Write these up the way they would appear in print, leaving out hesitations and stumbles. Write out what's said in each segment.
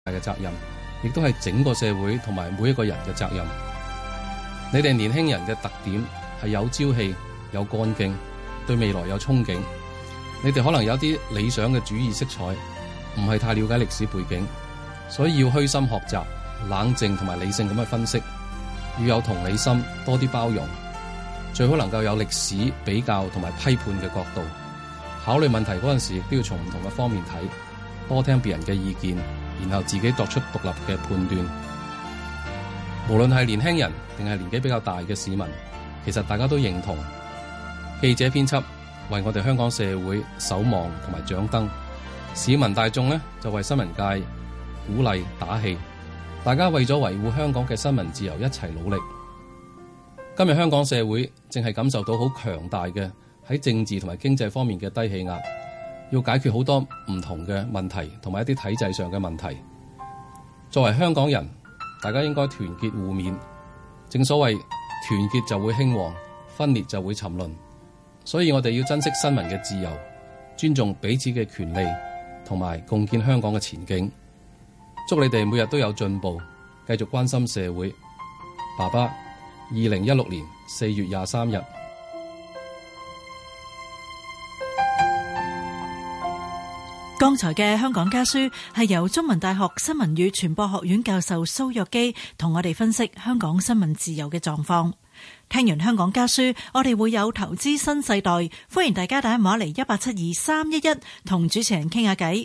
嘅責任，亦都係整個社會同埋每一個人嘅責任。你哋年輕人嘅特點係有朝氣、有幹勁，對未來有憧憬。你哋可能有啲理想嘅主義色彩，唔係太了解歷史背景，所以要虛心學習，冷靜同埋理性咁去分析，要有同理心，多啲包容，最好能夠有歷史比較同埋批判嘅角度，考慮問題嗰陣時亦都要從唔同嘅方面睇，多聽別人嘅意見，然後自己作出獨立嘅判斷。無論係年輕人定係年紀比較大嘅市民，其實大家都認同記者編輯為我哋香港社會守望同埋掌燈，市民大眾呢就為新聞界鼓勵打氣，大家為咗維護香港嘅新聞自由一齊努力。今日香港社會正係感受到好強大嘅喺政治同埋經濟方面嘅低氣壓，要解決好多唔同嘅問題同埋一啲體制上嘅問題。作為香港人，大家應該團結互勉。正所謂團結就會興旺，分裂就會沉淪。所以我哋要珍惜新聞嘅自由，尊重彼此嘅權利，同埋共建香港嘅前景。祝你哋每日都有進步，繼續關心社會。爸爸，2016年4月23日。 剛才嘅香港家書係由中文大學新聞與傳播學院教授蘇若基同我哋分析香港新聞自由嘅狀況。聽完香港家書，我哋會有投資新世代，歡迎大家打電話嚟1872311同主持人傾下偈。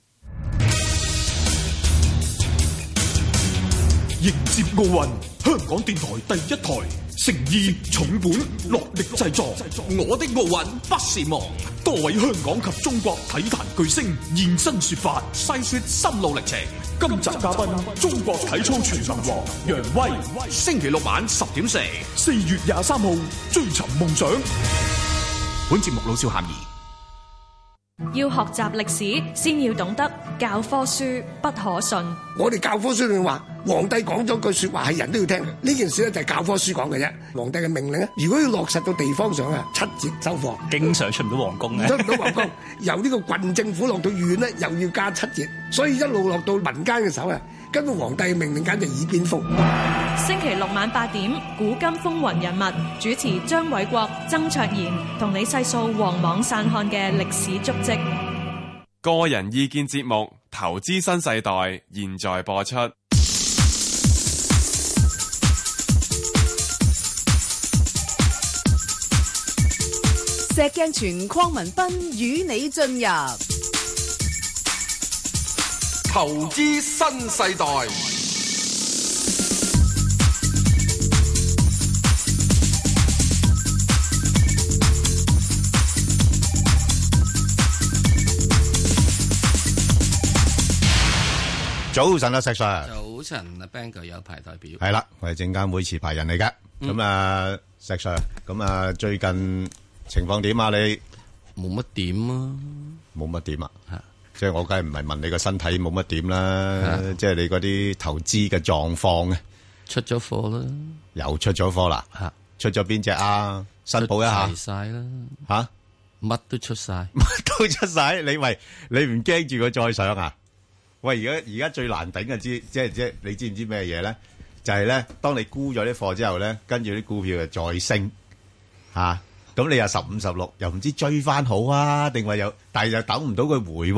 迎接奧運，香港電台第一台，誠意重本落力製作。我的奧運不是夢，多位香港及中國體壇巨星現身說法，細說心路歷程。今集嘉賓中國體操全能王楊威。星期六晚10:04，4月23號追尋夢想。本節目老少咸宜。 要學習歷史，先要懂得教科書不可信。 我哋教科書裏面話，皇帝講咗句說話係人都要聽嘅，呢件事咧就係教科書講嘅啫。皇帝嘅命令咧，如果要落實到地方上啊，7節收課，經常出唔到皇宮嘅，出唔到皇宮。由呢個郡政府落到縣咧，又要加7節，所以一路落到民間嘅時候啊，根本皇帝嘅命令簡直耳邊風。 星期六晚8點，古今風雲人物，主持張偉國、曾卓賢，同你細數皇莽散漢嘅歷史足跡。 個人意見節目《投資新世代》現在播出。 石鏡泉、鄺民彬與你進入投資新世代。 早晨啊，石 Sir。 早晨啊 ，Bang 哥有牌代表。 係啦，我係證監會持牌人嚟嘅。咁啊，石 Sir，咁啊，最近情況點啊？你冇乜點啊？ 冇乜點啊？即係我梗係唔係問你個身體冇乜點啦，即係你嗰啲投資嘅狀況啊。 出咗貨啦， 又出咗貨啦。出咗邊隻啊？申報一下。 出晒啦。 吓？ 乜都出晒。 乜都出晒？你唔驚住佢再上啊？喂，而家最難頂嘅即係你知唔知咩嘢咧？就係咧，當你沽咗啲貨之後咧，跟住啲股票就再升吓，咁你又15、16，又唔知追翻好啊，定話有，但係又等唔到佢回，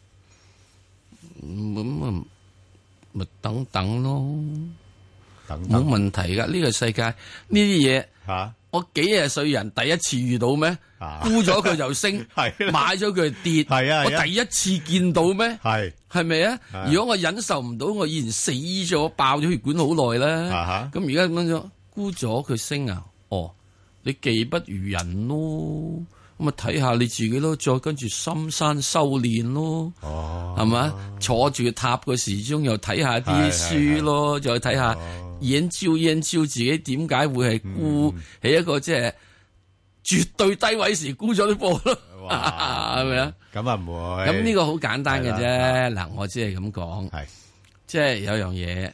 咁咪等等咯， 等冇問題噶。呢個世界呢啲嘢吓， 我幾廿歲人第一次遇到咩？沽咗佢就升，買咗佢就跌，我第一次見到咩？係咪啊？如果我忍受唔到，我以前死咗爆咗血管好耐啦。咁而家咁樣沽咗佢升啊？哦，你技不如人咯，咁啊睇下你自己咯，再跟住深山修煉咯，係嘛？坐住塔個時鐘又睇下啲書咯，再睇下研究自己點解會係沽喺一個即係絕對低位時沽咗啲貨咯，係咪啊？ 咁啊唔會。 咁呢個好簡單嘅啫。嗱，我只係咁講，即係有樣嘢，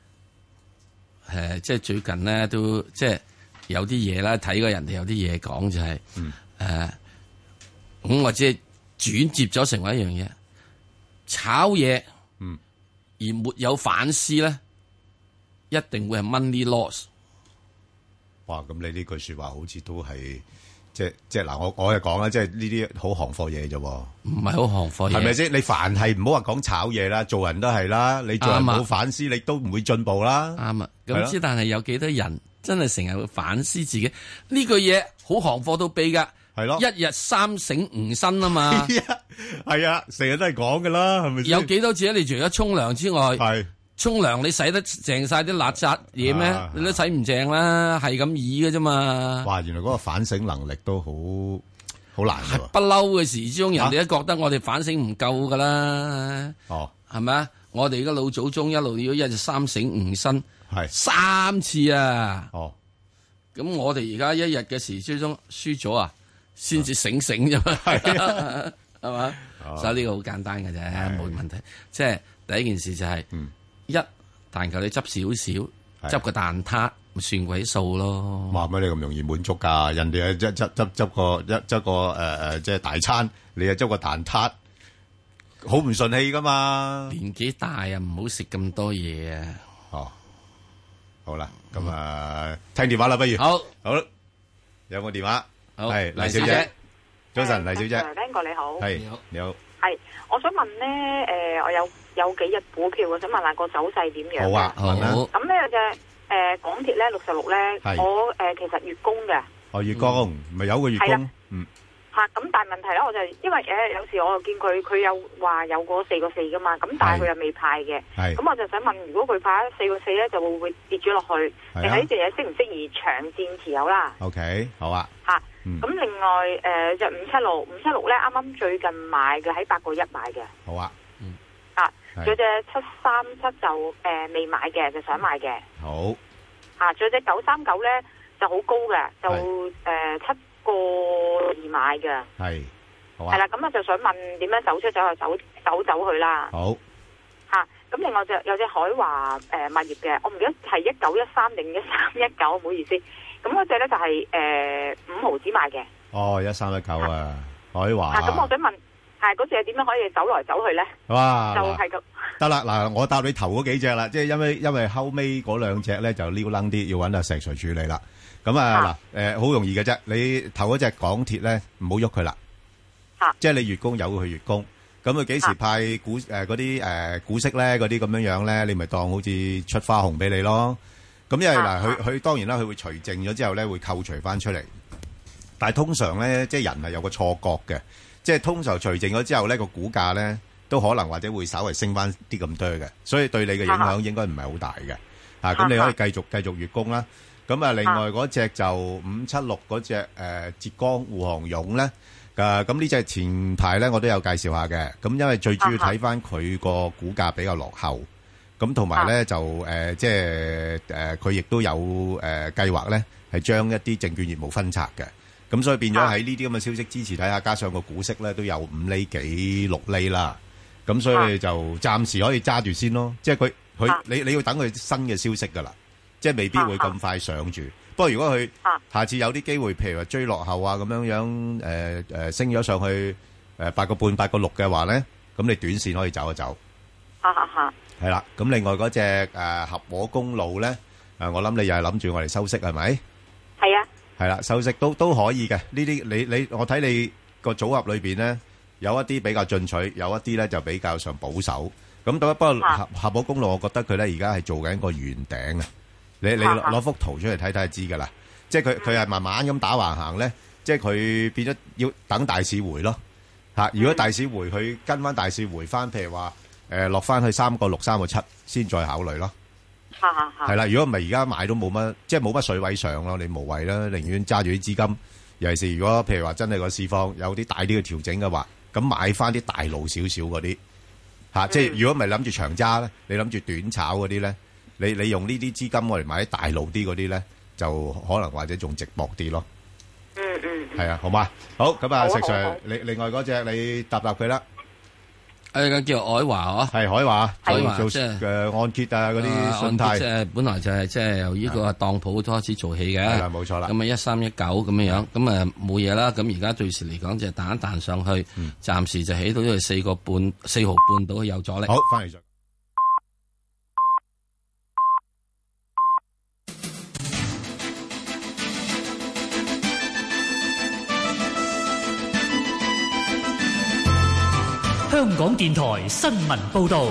即係最近咧都即係有啲嘢啦，睇過人哋有啲嘢講就係，咁我只係轉接咗成為一樣嘢，炒嘢， 而沒有反思咧，一定會係 money loss。 哇！咁你呢句說話好似都係即係嗱，我又講啦，即係呢啲好行貨嘢啫， 唔係好行貨嘢， 係咪先？你凡係唔好話講炒嘢啦，做人都係啦，你做人冇反思，你都唔會進步啦。 啱啊！咁之但係有幾多人真係成日會反思自己呢句嘢好行貨到痹噶？係咯，一日三省吾身啊嘛。 係啊，成日都係講噶啦，係咪先？ 有幾多次你除咗沖涼之外，係沖涼你洗得淨晒啲邋遢嘢咩？你都洗唔淨啦，係咁易嘅啫嘛。 哇！原來嗰個反省能力都好難㗎喎。 不嬲嘅時之中，人哋都覺得我哋反省唔夠噶啦。哦，係咪啊？我哋而家老祖宗一路要一日三省吾身，係3次啊。哦，咁我哋而家一日嘅時之中輸咗啊，先至醒啫嘛。係嘛？所以呢個好簡單嘅啫，冇問題。即係第一件事就係，一但求你執少少，執個蛋撻，咪算鬼數咯。 話乜你咁容易滿足㗎？人哋執個即係大餐，你又執個蛋撻，好唔順氣㗎嘛？ 年紀大啊，唔好食咁多嘢啊。 哦，好啦，咁聽電話啦，不如好，有冇電話？係黎小姐。早晨，黎小姐。 Ben 哥你好。 係你好。 係，我想問咧，我有幾隻股票，我想問下個走勢點樣？ 好啊，好。 咁咧有隻港鐵咧66咧，我其實月供嘅。 哦，月供咪有個月供。嗯。 嚇，咁但係問題咧，我就因為有時我又見佢有話有個4個4噶嘛，咁但係佢又未派嘅。係。咁我就想問，如果佢派4個4咧，就會唔會跌咗落去？定係呢隻嘢適唔適宜長線持有啦 ？OK， 好啊。 嚇。咁另外隻576咧，啱啱最近買嘅，喺8個1買嘅。好啊。仲有隻737就未買嘅，就想買嘅。好。仲有隻939咧就好高嘅，就7個2買嘅。係。好啊。係啦，咁我就想問點樣走去啦。好。咁另外有隻海華物業嘅，我唔記得係1913定1319，唔好意思。咁嗰隻咧就係5毫子買嘅。哦，1319啊，海華。咁我想問，嗰隻點樣可以走來走去咧？哇，就係咁。得啦，嗱，我答你頭嗰幾隻啦，即係因為後尾嗰兩隻咧就撩楞啲，要揾阿石 Sir 處理啦。咁好容易嘅啫，你頭嗰隻港鐵咧唔好喐佢啦。即係你月供由佢月供，咁佢幾時派嗰啲股息咧？嗰啲咁樣咧，你咪當好似出花紅俾你咯。咁因為佢當然啦，佢會除淨咗之後咧，會扣除翻出嚟。但係通常咧，即係人係有個錯覺嘅，即係通常除淨咗之後咧，個股價咧都可能或者會稍微升翻啲咁多嘅，所以對你嘅影響應該唔係好大嘅。咁你可以繼續月供啦。咁啊，另外嗰隻就576嗰隻浙江滬杭甬咧，咁呢隻前排咧我都有介紹下嘅。咁因為最主要睇翻佢個股價比較落後。咁同埋咧就即係佢亦都有計劃咧，係將一啲證券業務分拆嘅。咁所以變咗喺呢啲咁嘅消息支持底下，加上個股息咧都有5厘幾6厘啦。咁所以就暫時可以揸住先咯。即係你要等佢新嘅消息㗎啦，即係未必會咁快上住。不過如果佢下次有啲機會，譬如話追落後啊咁樣升咗上去8個半8個6嘅話咧，咁你短線可以走一走。係啦，咁另外嗰隻合和公路咧，我諗你又係諗住我哋收息係咪？係啊。係啦，收息都可以嘅。呢啲我睇你個組合裏邊咧，有一啲比較進取，有一啲咧就比較上保守。咁不過合和公路，我覺得佢咧而家係做緊個圓頂啊！你攞幅圖出嚟睇睇就知㗎啦。即係佢係慢慢咁打橫行咧，即係佢變咗要等大市回咯。如果大市回，佢跟翻大市回翻，譬如話。落翻去3個6、3個7先再考慮咯。係啦，如果唔係而家買都冇乜，即係冇乜水位上咯，你無謂啦，寧願揸住啲資金。尤其是如果譬如話真係個市況有啲大啲嘅調整嘅話，咁買翻啲大路少少嗰啲即係如果唔係諗住長揸咧，你諗住短炒嗰啲咧，你用呢啲資金我嚟買啲大路啲嗰啲咧，就可能或者仲值博啲咯。係啊，好嘛？好，咁啊，石 Sir，另外嗰隻你答佢啦。 叫海華係海華，做即係按揭啊嗰啲信貸， 即係本來就係即係由呢個當鋪開始做起嘅，係啦，冇錯啦。咁1319咁樣，咁冇嘢啦。咁而家最時嚟講就係彈一彈上去，暫時就起到呢個4毫半到有阻力。好，翻嚟再。 香港電台新聞報道。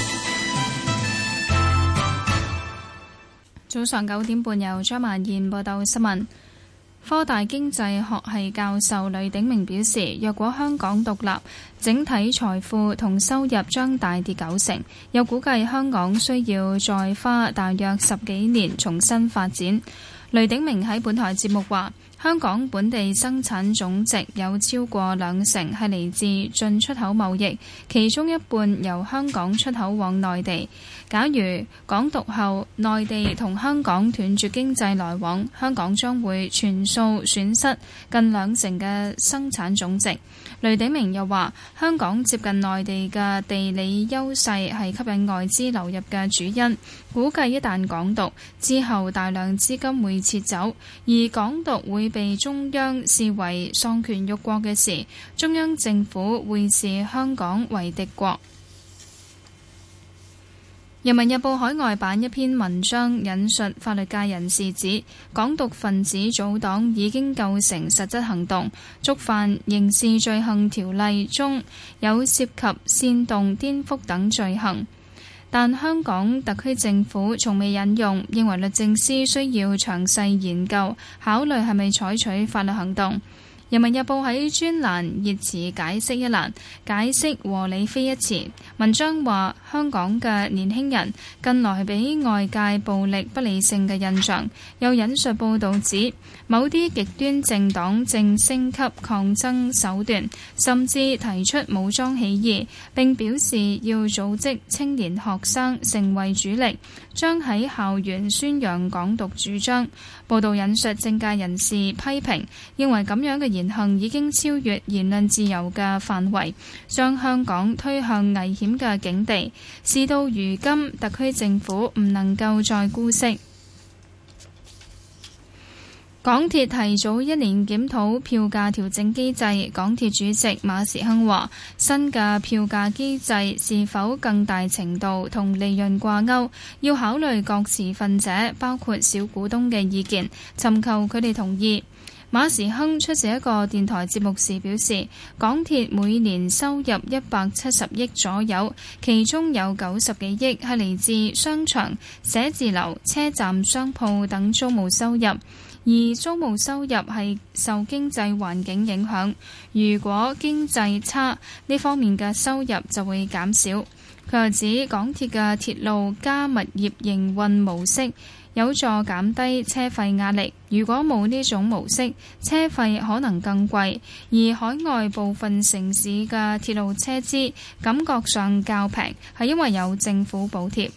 早上9點半，由張曼燕報道新聞。科大經濟學系教授雷鼎明表示，若果香港獨立，整體財富同收入將大跌90%，又估計香港需要再花大約10幾年重新發展。雷鼎明喺本台節目話，香港本地生產總值有超過20%係嚟自進出口貿易，其中一半由香港出口往內地。假如港獨後內地同香港斷絕經濟來往，香港將會全數損失近20%嘅生產總值。雷鼎明又話，香港接近內地嘅地理優勢係吸引外資流入嘅主因，估計一旦港獨之後大量資金會撤走，而港獨會被中央視為喪權辱國嘅事，中央政府會視香港為敵國。人民日報海外版一篇文章引述法律界人士指，港獨分子組黨已經構成實質行動，觸犯刑事罪行條例中有涉及煽動、顛覆等罪行，但香港特區政府從未引用，認為律政司需要詳細研究，考慮係咪採取法律行動。人民日報喺專欄熱詞解釋一欄解釋和理非一詞，文章話香港嘅年輕人近來俾外界暴力不理性嘅印象，又引述報導指某啲極端政黨正升級抗爭手段，甚至提出武裝起義，並表示要組織青年學生成為主力，將喺校園宣揚港獨主張。報導引述政界人士批評，認為咁樣嘅言行已經超越言論自由嘅範圍，將香港推向危險嘅境地。事到如今，特區政府唔能夠再姑息。港鐵提早1年檢討票價調整機制，港鐵主席馬時亨話：新嘅票價機制是否更大程度同利潤掛鈎，要考慮各持份者，包括小股東嘅意見，尋求佢哋同意。馬時亨出席一個電台節目時表示，港鐵每年收入170億左右，其中有90幾億係嚟自商場、寫字樓、車站商鋪等租務收入，而租務收入係受經濟環境影響，如果經濟差，呢方面嘅收入就會減少。佢又指港鐵嘅鐵路加物業營運模式有助減低車費壓力，如果冇呢種模式，車費可能更貴，而海外部分城市嘅鐵路車資感覺上較平，係因為有政府補貼。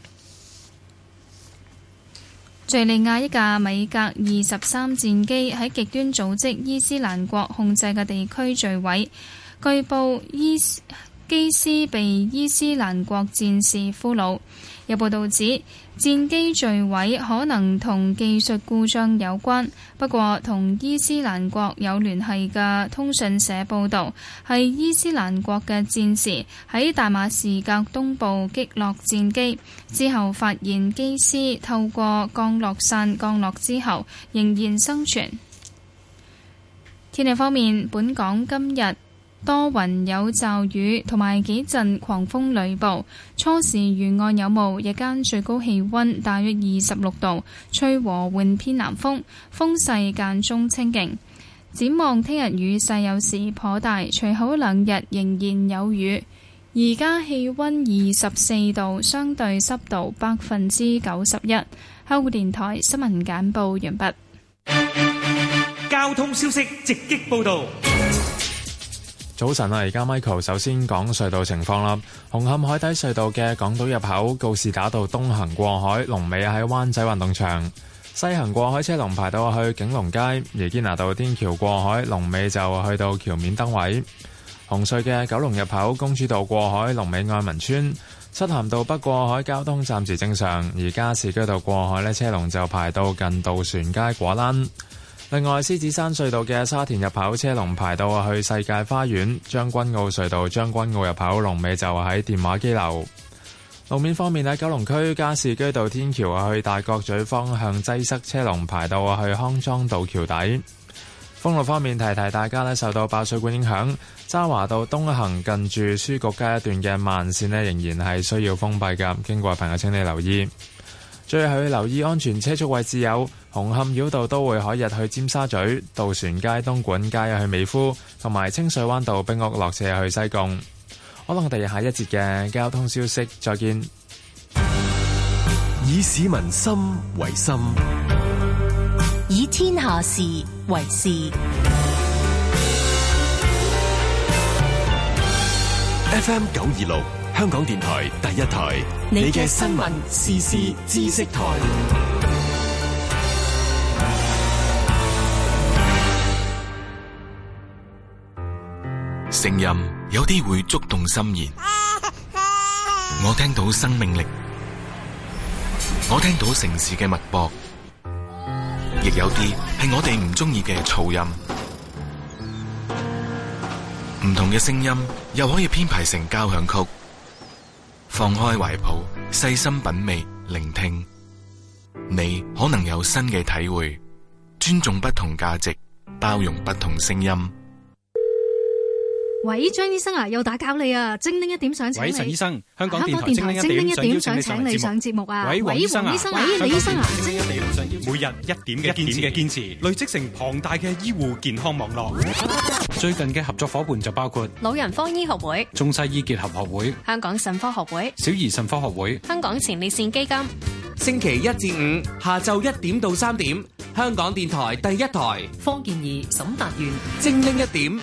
敘利亞一架米格23戰機喺極端組織伊斯蘭國控制嘅地區墜毀，據報機師被伊斯蘭國戰士俘虜。有報道指戰機墜毀可能同技術故障有關，不過同伊斯蘭國有聯繫嘅通訊社報導，係伊斯蘭國嘅戰士喺大馬士革東部擊落戰機之後，發現機師透過降落傘降落之後仍然生存。天氣方面，本港今日多雲有驟雨同埋幾陣狂風雷暴，初時沿岸有霧，日間最高氣溫大約26度，吹和緩偏南風，風勢間中清勁。展望聽日雨勢有時頗大，隨後2日仍然有雨。而家氣溫24度，相對濕度91%。香港電台新聞簡報完畢。 交通消息直擊報道。 早晨啊，而家 Michael 首先講隧道情況啦。紅磡海底隧道嘅港島入口告士打道東行過海，龍尾喺灣仔運動場；西行過海車龍排到去景隆街，而堅拿道天橋過海龍尾就去到橋面燈位。紅隧嘅九龍入口公主道過海龍尾愛民村，漆咸道北過海交通暫時正常，而加士居道過海呢車龍就排到近渡船街果欄。另外，獅子山隧道嘅沙田入口車龍排到去世界花園，將軍澳隧道將軍澳入口龍尾就喺電話機樓。路面方面喺九龍區加士居道天橋去大角咀方向擠塞，車龍排到去康莊道橋底。 封路方面，提大家咧，受到爆水管影響，渣華道東行近住書局街一段嘅慢線咧，仍然係需要封閉㗎。經過朋友請你留意。最後要留意安全車速位置有紅磡繞道都會海逸去尖沙咀、渡船街、東莞街去美孚，同埋清水灣道冰屋落斜去西貢。可能我哋下一節嘅交通消息再見。 以市民心為心， 以天下事為事。 FM 926香港電台第一台，你嘅新聞時事知識台。 聲音有啲會觸動心弦，我聽到生命力，我聽到城市嘅脈搏，亦有啲係我哋唔中意嘅噪音。唔同嘅聲音又可以編排成交響曲。放開懷抱，細心品味，聆聽，你可能有新嘅體會。尊重不同價值，包容不同聲音。 喂，張醫生啊，又打攪你啊！精靈一點想請你。喂，陳醫生，香港電台精靈一點想請你上節目啊！喂，黃醫生啊，喂，李醫生啊，精靈一點想每日一點嘅堅持，累積成龐大嘅醫護健康網絡。最近嘅合作伙伴就包括老人科醫學會、 中西醫結合學會、 香港腎科學會、 小兒腎科學會、 香港前列腺基金。 星期一至五下晝1點到3點，香港電台第一台。 方健儀、沈達元， 精靈一點。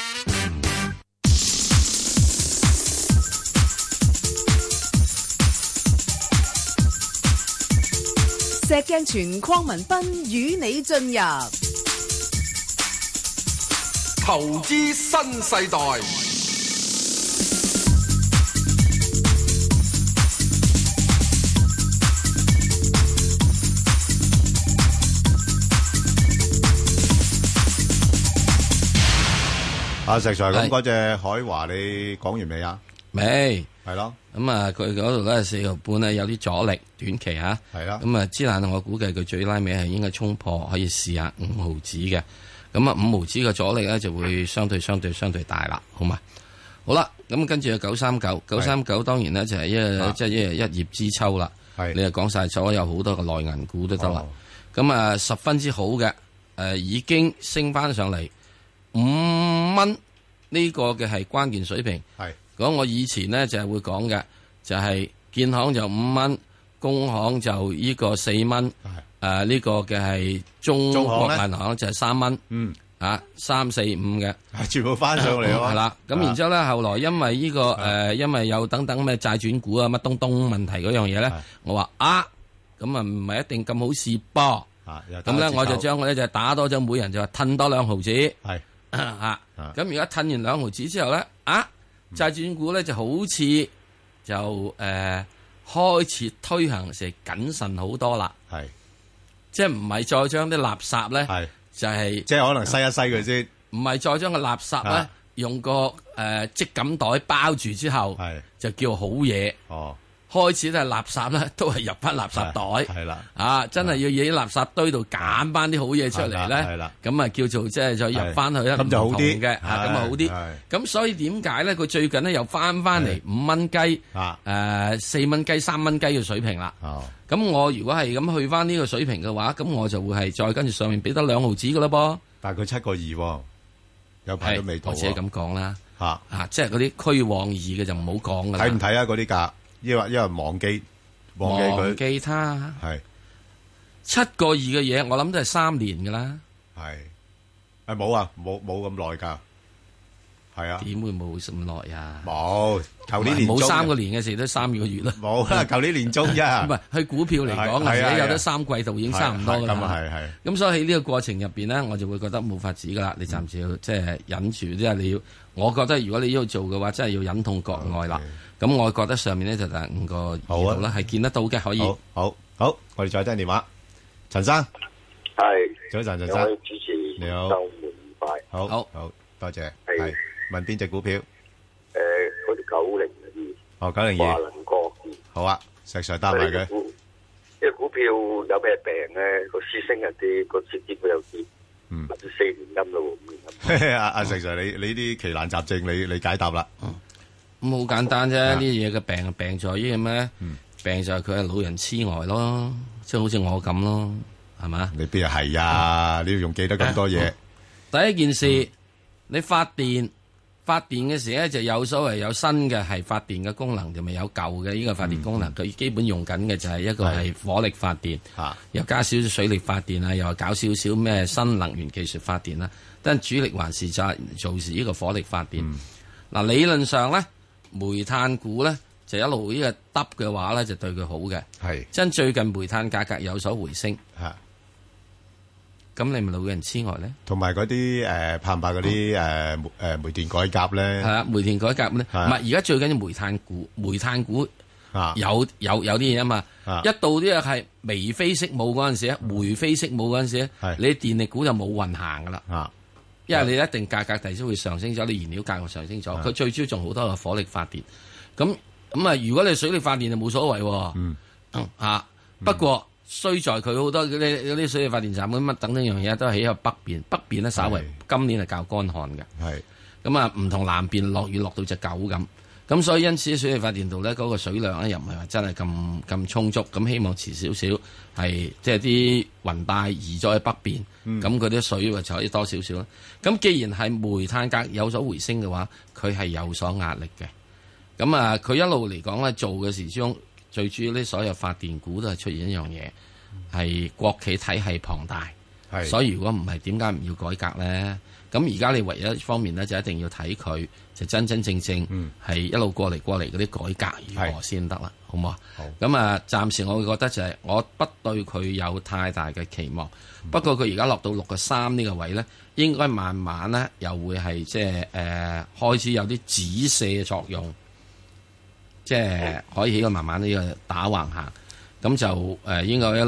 石鏡泉鄺民彬與你進入投資新世代。 阿石 Sir， 咁嗰隻海華你講完未啊？ 未， 係咯。 咁啊，佢嗰度咧4毫半咧有啲阻力，短期嚇。 係啦。 咁啊，之但我估計佢最拉尾係應該衝破，可以試下5毫子嘅。咁啊，5毫子嘅阻力咧就會相對大啦，好嘛？好啦，咁跟住有939當然咧就係一葉知秋啦。係。你又講晒所有好多嘅內銀股都得啦。咁啊，十分之好嘅，已經升翻上嚟5蚊呢個嘅係關鍵水平。係。講我以前呢，就係會講嘅，就係建行就5蚊，工行就呢個4蚊，呢個嘅係中國銀行就係3蚊，啊3、4、5嘅， 全部翻上嚟咯。 係啦，咁然之後咧，後來因為呢個因為有等等咩債轉股啊乜東問題嗰樣嘢咧，我話咁啊唔係一定咁好試噃，咁咧我就將佢咧就打多咗，每人就話褪多2毫子，係咁而家褪完2毫子之後咧，債轉股咧就好似就開始推行成謹慎好多啦，係即係唔係再將啲垃圾咧，係就係即係可能篩一篩佢先， 唔係再將個垃圾咧用個織錦袋包住之後，係就叫好嘢。哦，開始咧垃圾咧都係入翻垃圾袋，係啦，真係要喺垃圾堆度揀翻啲好嘢出嚟咧，係啦，咁啊叫做即係再入翻去一咁就好啲嘅，咁啊好啲。咁所以點解咧？佢最近咧又翻嚟5蚊雞，4蚊雞、3蚊雞嘅水平啦。咁我如果係咁去翻呢個水平嘅話，咁我就會係再跟住上面俾得2毫子噶啦噃。 但係佢7個2，有排都未到。 我自己咁講啦，即係嗰啲虛妄2嘅就唔好講噶啦。 睇唔睇啊？嗰啲價？因為忘記佢， 忘記他係7個2嘅嘢，我諗都係3年噶啦。 係冇咁耐噶，係啊？ 點會冇咁耐啊？ 冇，舊年年中冇3個年嘅事都3個月啦。 冇啦，舊年年中啫。唔係，去股票嚟講，而家有得3季度已經差唔多噶啦。咁所以喺呢個過程入邊咧，我就會覺得冇法子噶啦。你暫時要即係忍住，即係你要。我覺得如果你要做嘅話，真係要忍痛割愛啦。咁我覺得上面咧就係5個2度啦，係見得到嘅，可以。 好，我哋再聽電話，陳生。 係。 早晨，陳生。 兩位主持， 你好。 周末愉快。 好，多謝。係。問邊隻股票？ 嗰啲90嗰啲。 哦，902。 華能國。 好啊，石 Sir 答埋佢。 呢個股票有咩病咧？個市升一啲，個市跌佢又跌。 或者4年陰咯，5年陰。 阿石 Sir， 你啲奇難雜症，你解答啦。 咁好簡單啫，呢啲嘢嘅病病在於咩？病就係佢係老人痴呆咯，即係好似我咁咯，係嘛？ 你邊係啊？你要用記得咁多嘢。 第一件事，你發電嘅時咧就有所謂有新嘅係發電嘅功能，就咪有舊嘅呢個發電功能。佢基本用緊嘅就係一個係火力發電，又加少少水力發電啊，又搞少少咩新能源技術發電啦。但主力還是就係做時呢個火力發電。嗱，理論上咧，煤炭股咧就一路呢個耷嘅話咧，就對佢好嘅。係，真最近煤炭價格有所回升。咁你咪老人痴呆咧？同埋嗰啲怕唔怕嗰啲煤電改革咧？ 係啊，煤電改革咧，唔係而家最緊要煤炭股有啲嘢啊嘛。一到啲嘢係眉飛色舞嗰陣時咧，眉飛色舞嗰陣時咧，你電力股就冇運行噶啦。因為你一定價格第時會上升咗，你燃料價格上升咗，佢最主要仲好多係火力發電。咁啊，如果你水力發電就冇所謂。不過。衰在佢好多嗰啲水力發電站乜等等樣嘢都係喺北邊，北邊咧稍為今年係較乾旱嘅。係咁啊，唔同南邊落雨落到隻狗咁。咁所以因此水力發電度咧嗰個水量咧又唔係話真係咁充足。咁希望遲少少係即係啲雲帶移咗喺北邊，咁嗰啲水就可以多少少啦。咁既然係煤炭價有所回升嘅話，佢係有所壓力嘅。咁啊，佢一路嚟講咧做嘅時鐘。最主要呢，所有發電股都係出現一樣嘢，係國企體系龐大，所以如果唔係，點解唔要改革咧？咁而家你唯一一方面咧，就一定要睇佢就真真正正係一路過嚟嗰啲改革如何先得啦，好唔好啊？咁啊，暫時我會覺得就係我不對佢有太大嘅期望，不過佢而家落到6.3呢個位咧，應該慢慢咧又會係即係開始有啲止瀉嘅作用。即係可以喺個慢慢呢個打橫行，咁就應該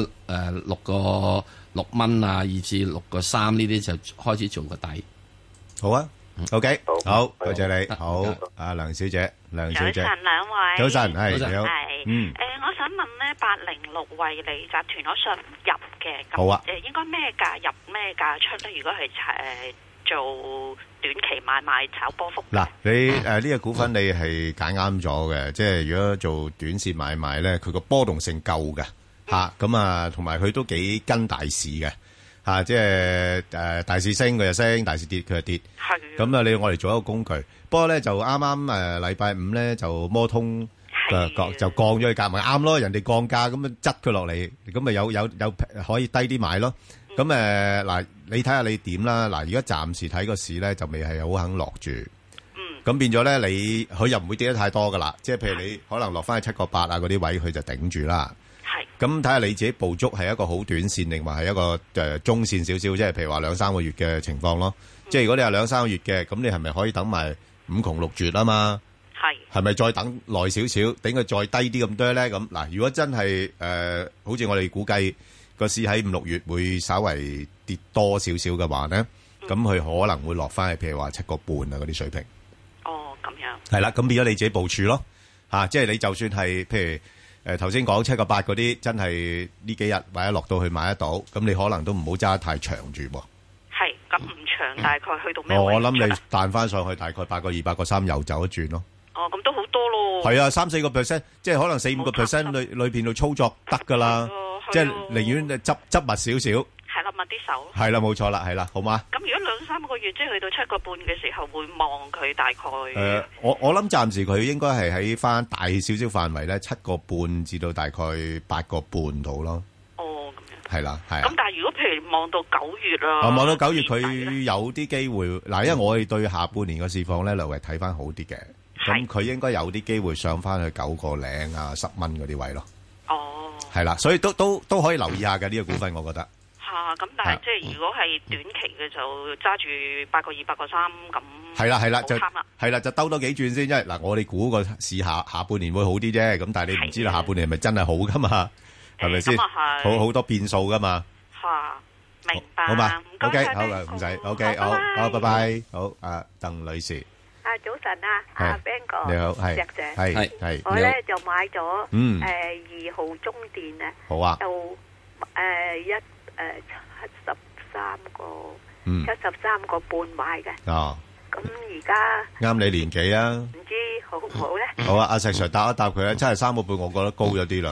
6蚊啊，以至6.3呢啲就開始做個底。 好啊 ，OK， 好，多謝你。好，阿梁小姐，梁小姐， 早晨兩位， 早晨，係你好。 我想問咧，806惠理集團我想入嘅， 好啊， 應該咩價入咩價出咧？如果係做短期買賣炒波幅。 嗱，你呢個股份你係揀啱咗嘅，即係如果做短線買賣咧，佢個波動性夠嘅嚇，咁啊，同埋佢都幾跟大市嘅嚇，即係大市升佢就升，大市跌佢就跌。係。咁啊，你我哋做一個工具，不過咧就啱啱禮拜五咧就摩通就降咗佢價，咪啱咯，人哋降價咁啊，執佢落嚟，咁咪有可以低啲買咯。咁嗱，你睇下你點啦。嗱，而家暫時睇個市咧，就未係好肯落住。咁變咗咧，佢又唔會跌得太多噶啦。即係譬如你可能落翻去7.8啊嗰啲位，佢就頂住啦。係。咁睇下你自己捕捉係一個好短線，定話係一個中線少少，即係譬如話2-3個月嘅情況咯。即係如果你係2-3個月嘅，咁你係咪可以等埋5窮6絕啊嘛？係。係咪再等耐少少，頂佢再低啲咁多咧？咁嗱，如果真係好似我哋估計。個市喺5-6月會稍微跌多少少嘅話咧，咁佢可能會落翻去，譬如話7.5啊嗰啲水平。 哦，咁樣。係啦，咁變咗你自己部署咯，即係你就算係譬如頭先講7.8嗰啲，真係呢幾日或者落到去買得到，咁你可能都唔好揸得太長住喎。 係，咁唔長，大概去到咩位？ 我諗你彈翻上去大概8.2、8.3又走一轉咯。 哦，咁都好多咯。 係啊，3-4%，即係可能4-5% 裏邊度操作得㗎啦。即係寧願執密少少， 係啦，密啲手。 係啦，冇錯啦，係啦，好嗎？ 咁如果2-3個月，即係去到7.5嘅時候，會望佢大概。 我諗暫時佢應該係喺翻大少少範圍咧，7.5至到大概8.5度咯。 哦，咁樣。 係啦，係。 咁但係如果譬如望到9月啊， 望到9月佢有啲機會嗱，因為我哋對下半年嘅市況咧，略為睇翻好啲嘅，咁佢應該有啲機會上翻去9個零啊10蚊嗰啲位咯。係啦，所以都可以留意下嘅呢個股份，我覺得。 咁但係即係如果係短期嘅就揸住8.2、8.3咁。係啦，就兜多幾轉先，因為嗱，我哋估個市下半年會好啲啫，咁但係你唔知道下半年係咪真係好噶嘛？係咪先？好多變數噶嘛。 明白。 好嘛？OK，好啊，唔使。OK，好，拜拜。好，鄧女士。 早晨啊，阿 Ben 哥， 你好，係石姐， 係， 我咧就買咗2號中電啊， 好啊， 就73個 73個半買嘅。 哦， 咁而家啱你年紀啊， 唔知好唔好咧？ 好啊，阿石 Sir 答一答佢啊，73個半，我覺得高咗啲啦。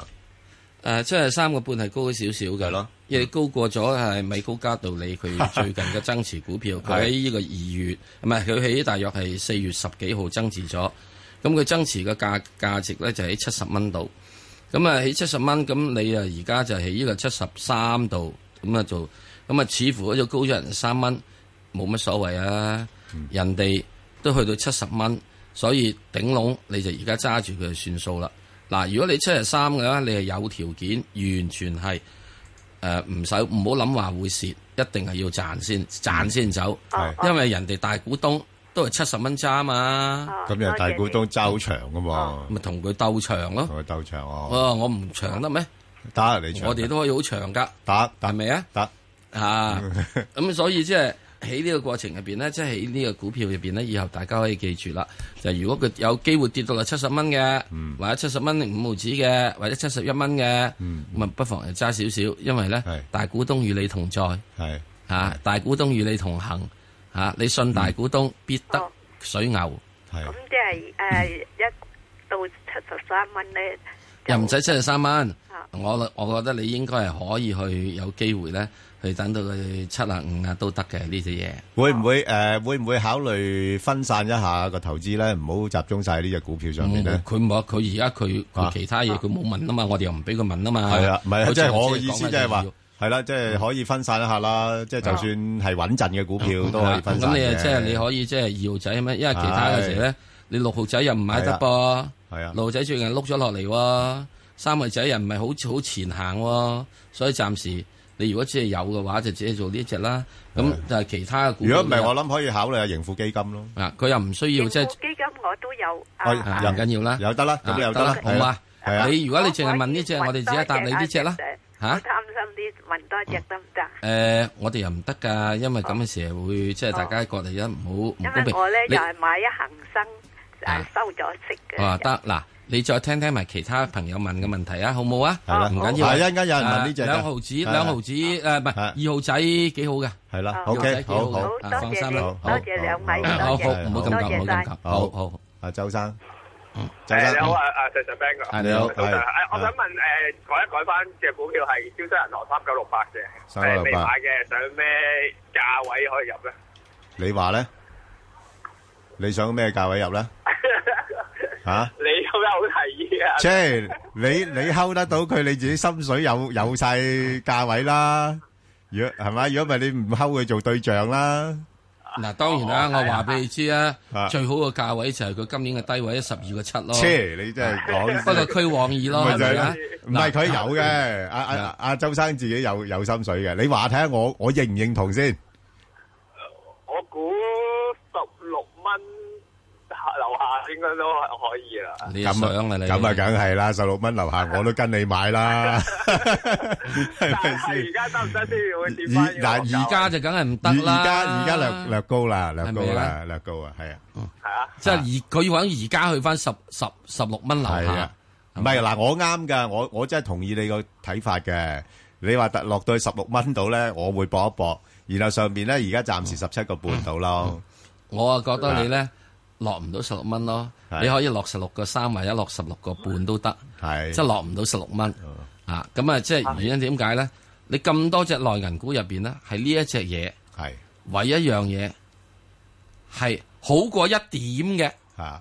73個半係高咗少少嘅咯，因為高過咗係米高加道理佢最近嘅增持股票，佢喺呢個2月，唔係佢喺大約係4月10幾號增持咗，咁佢增持嘅價值咧就喺70蚊度，咁啊喺70蚊，咁你啊而家就喺呢個73度，咁啊做，咁啊似乎嗰隻高咗人3蚊，冇乜所謂啊，人哋都去到70蚊，所以頂籠你就而家揸住佢就算數啦。嗱，如果你73嘅話，你係有條件，完全係唔好諗話會蝕，一定係要賺先走，因為人哋大股東都係70蚊揸嘛。 咁又大股東揸好長噶嘛， 咪同佢鬥長咯。 同佢鬥長哦。 我唔長得咩？ 得你長， 我哋都可以好長噶。 得係咪啊？ 得咁所以即係。喺呢個過程入邊咧，即係喺呢個股票入邊咧，以後大家可以記住啦。就如果佢有機會跌到嚟70蚊嘅，或者70蚊5毫子嘅，或者71蚊嘅，咁啊不妨就揸少少，因為咧大股東與你同在，大股東與你同行，你信大股東必得水牛。 咁即係一到73蚊咧， 又唔使73蚊。我覺得你應該係可以去有機會咧。去等到佢75都得嘅呢隻嘢， 會唔會考慮分散一下個投資咧？唔好集中晒呢隻股票上面咧。 佢冇，佢而家佢其他嘢佢冇問啊嘛，我哋又唔俾佢問啊嘛。 係啊，唔係即係我嘅意思，即係話係啦，即係可以分散一下啦。即係就算係穩陣嘅股票都可以分散嘅。 咁你即係你可以即係2號仔咩？因為其他嘅時咧，你6號仔又唔買得噃。係啊，6號仔最近碌咗落嚟喎，3號仔又唔係好前行喎，所以暫時。你如果只係有嘅話，就只係做呢隻啦。咁就係其他嘅股。 如果唔係，我諗可以考慮下盈富基金咯。 佢又唔需要即係。 盈富基金我都有。 唔緊要啦， 有得啦，咁又得啦， 好嘛？你如果你淨係問呢隻，我哋只係答你呢隻啦。 我貪心啲，問多隻得唔得？ 我哋又唔得㗎，因為咁嘅時候會即係大家覺得唔好唔公平。 因為我咧又係買一恒生，收咗息嘅。 得嗱。你再聽埋其他朋友問嘅問題啊，好冇啊？ 係啦， 唔緊要。 係一陣間有人問呢隻 2毫子，唔係2號仔幾好嘅。 係啦，OK，好， 放心啦， 多謝兩位， 好，唔好咁急，唔好咁急。好， 阿周生， 你好啊，石 Sir Ben 哥， 你好， 我想問改翻隻股票係招商銀行3968嘅，未買嘅，想咩價位可以入咧？ 你話咧？你想咩價位入咧？ 你有咩好提議啊？ 即係你睺得到佢，你自己心水有晒價位啦。如果係咪？如果唔係你唔睺佢做對象啦。 嗱，當然啦，我話俾你知啊，最好嘅價位就係佢今年嘅低位12個7咯。 你真係講， 不過趨往意咯，係咪啊？ 唔係佢有嘅，阿周生自己有心水嘅。你話睇下我認唔認同先？ 我估16蚊。樓下應該都可以啦。 你想啊你？ 咁啊，梗係啦，16蚊樓下我都跟你買啦。 係咪先？而家得唔得先？會跌翻？ 嗱，而家就梗係唔得啦。 而家略高啦，略高啊，係啊。 係啊。 即係佢要揾而家去翻16蚊樓下。 唔係嗱，我啱噶，我真係同意你個睇法嘅。你話落到去16蚊度咧，我會搏一搏。然後上邊咧，而家暫時17個半度咯。 我啊覺得你咧。落唔到16蚊咯，你可以落16個3或者落16個半都得，即係落唔到16蚊啊！咁啊，即係原因點解咧？你咁多隻內銀股入邊咧，係呢一隻嘢係唯一樣嘢係好過一點嘅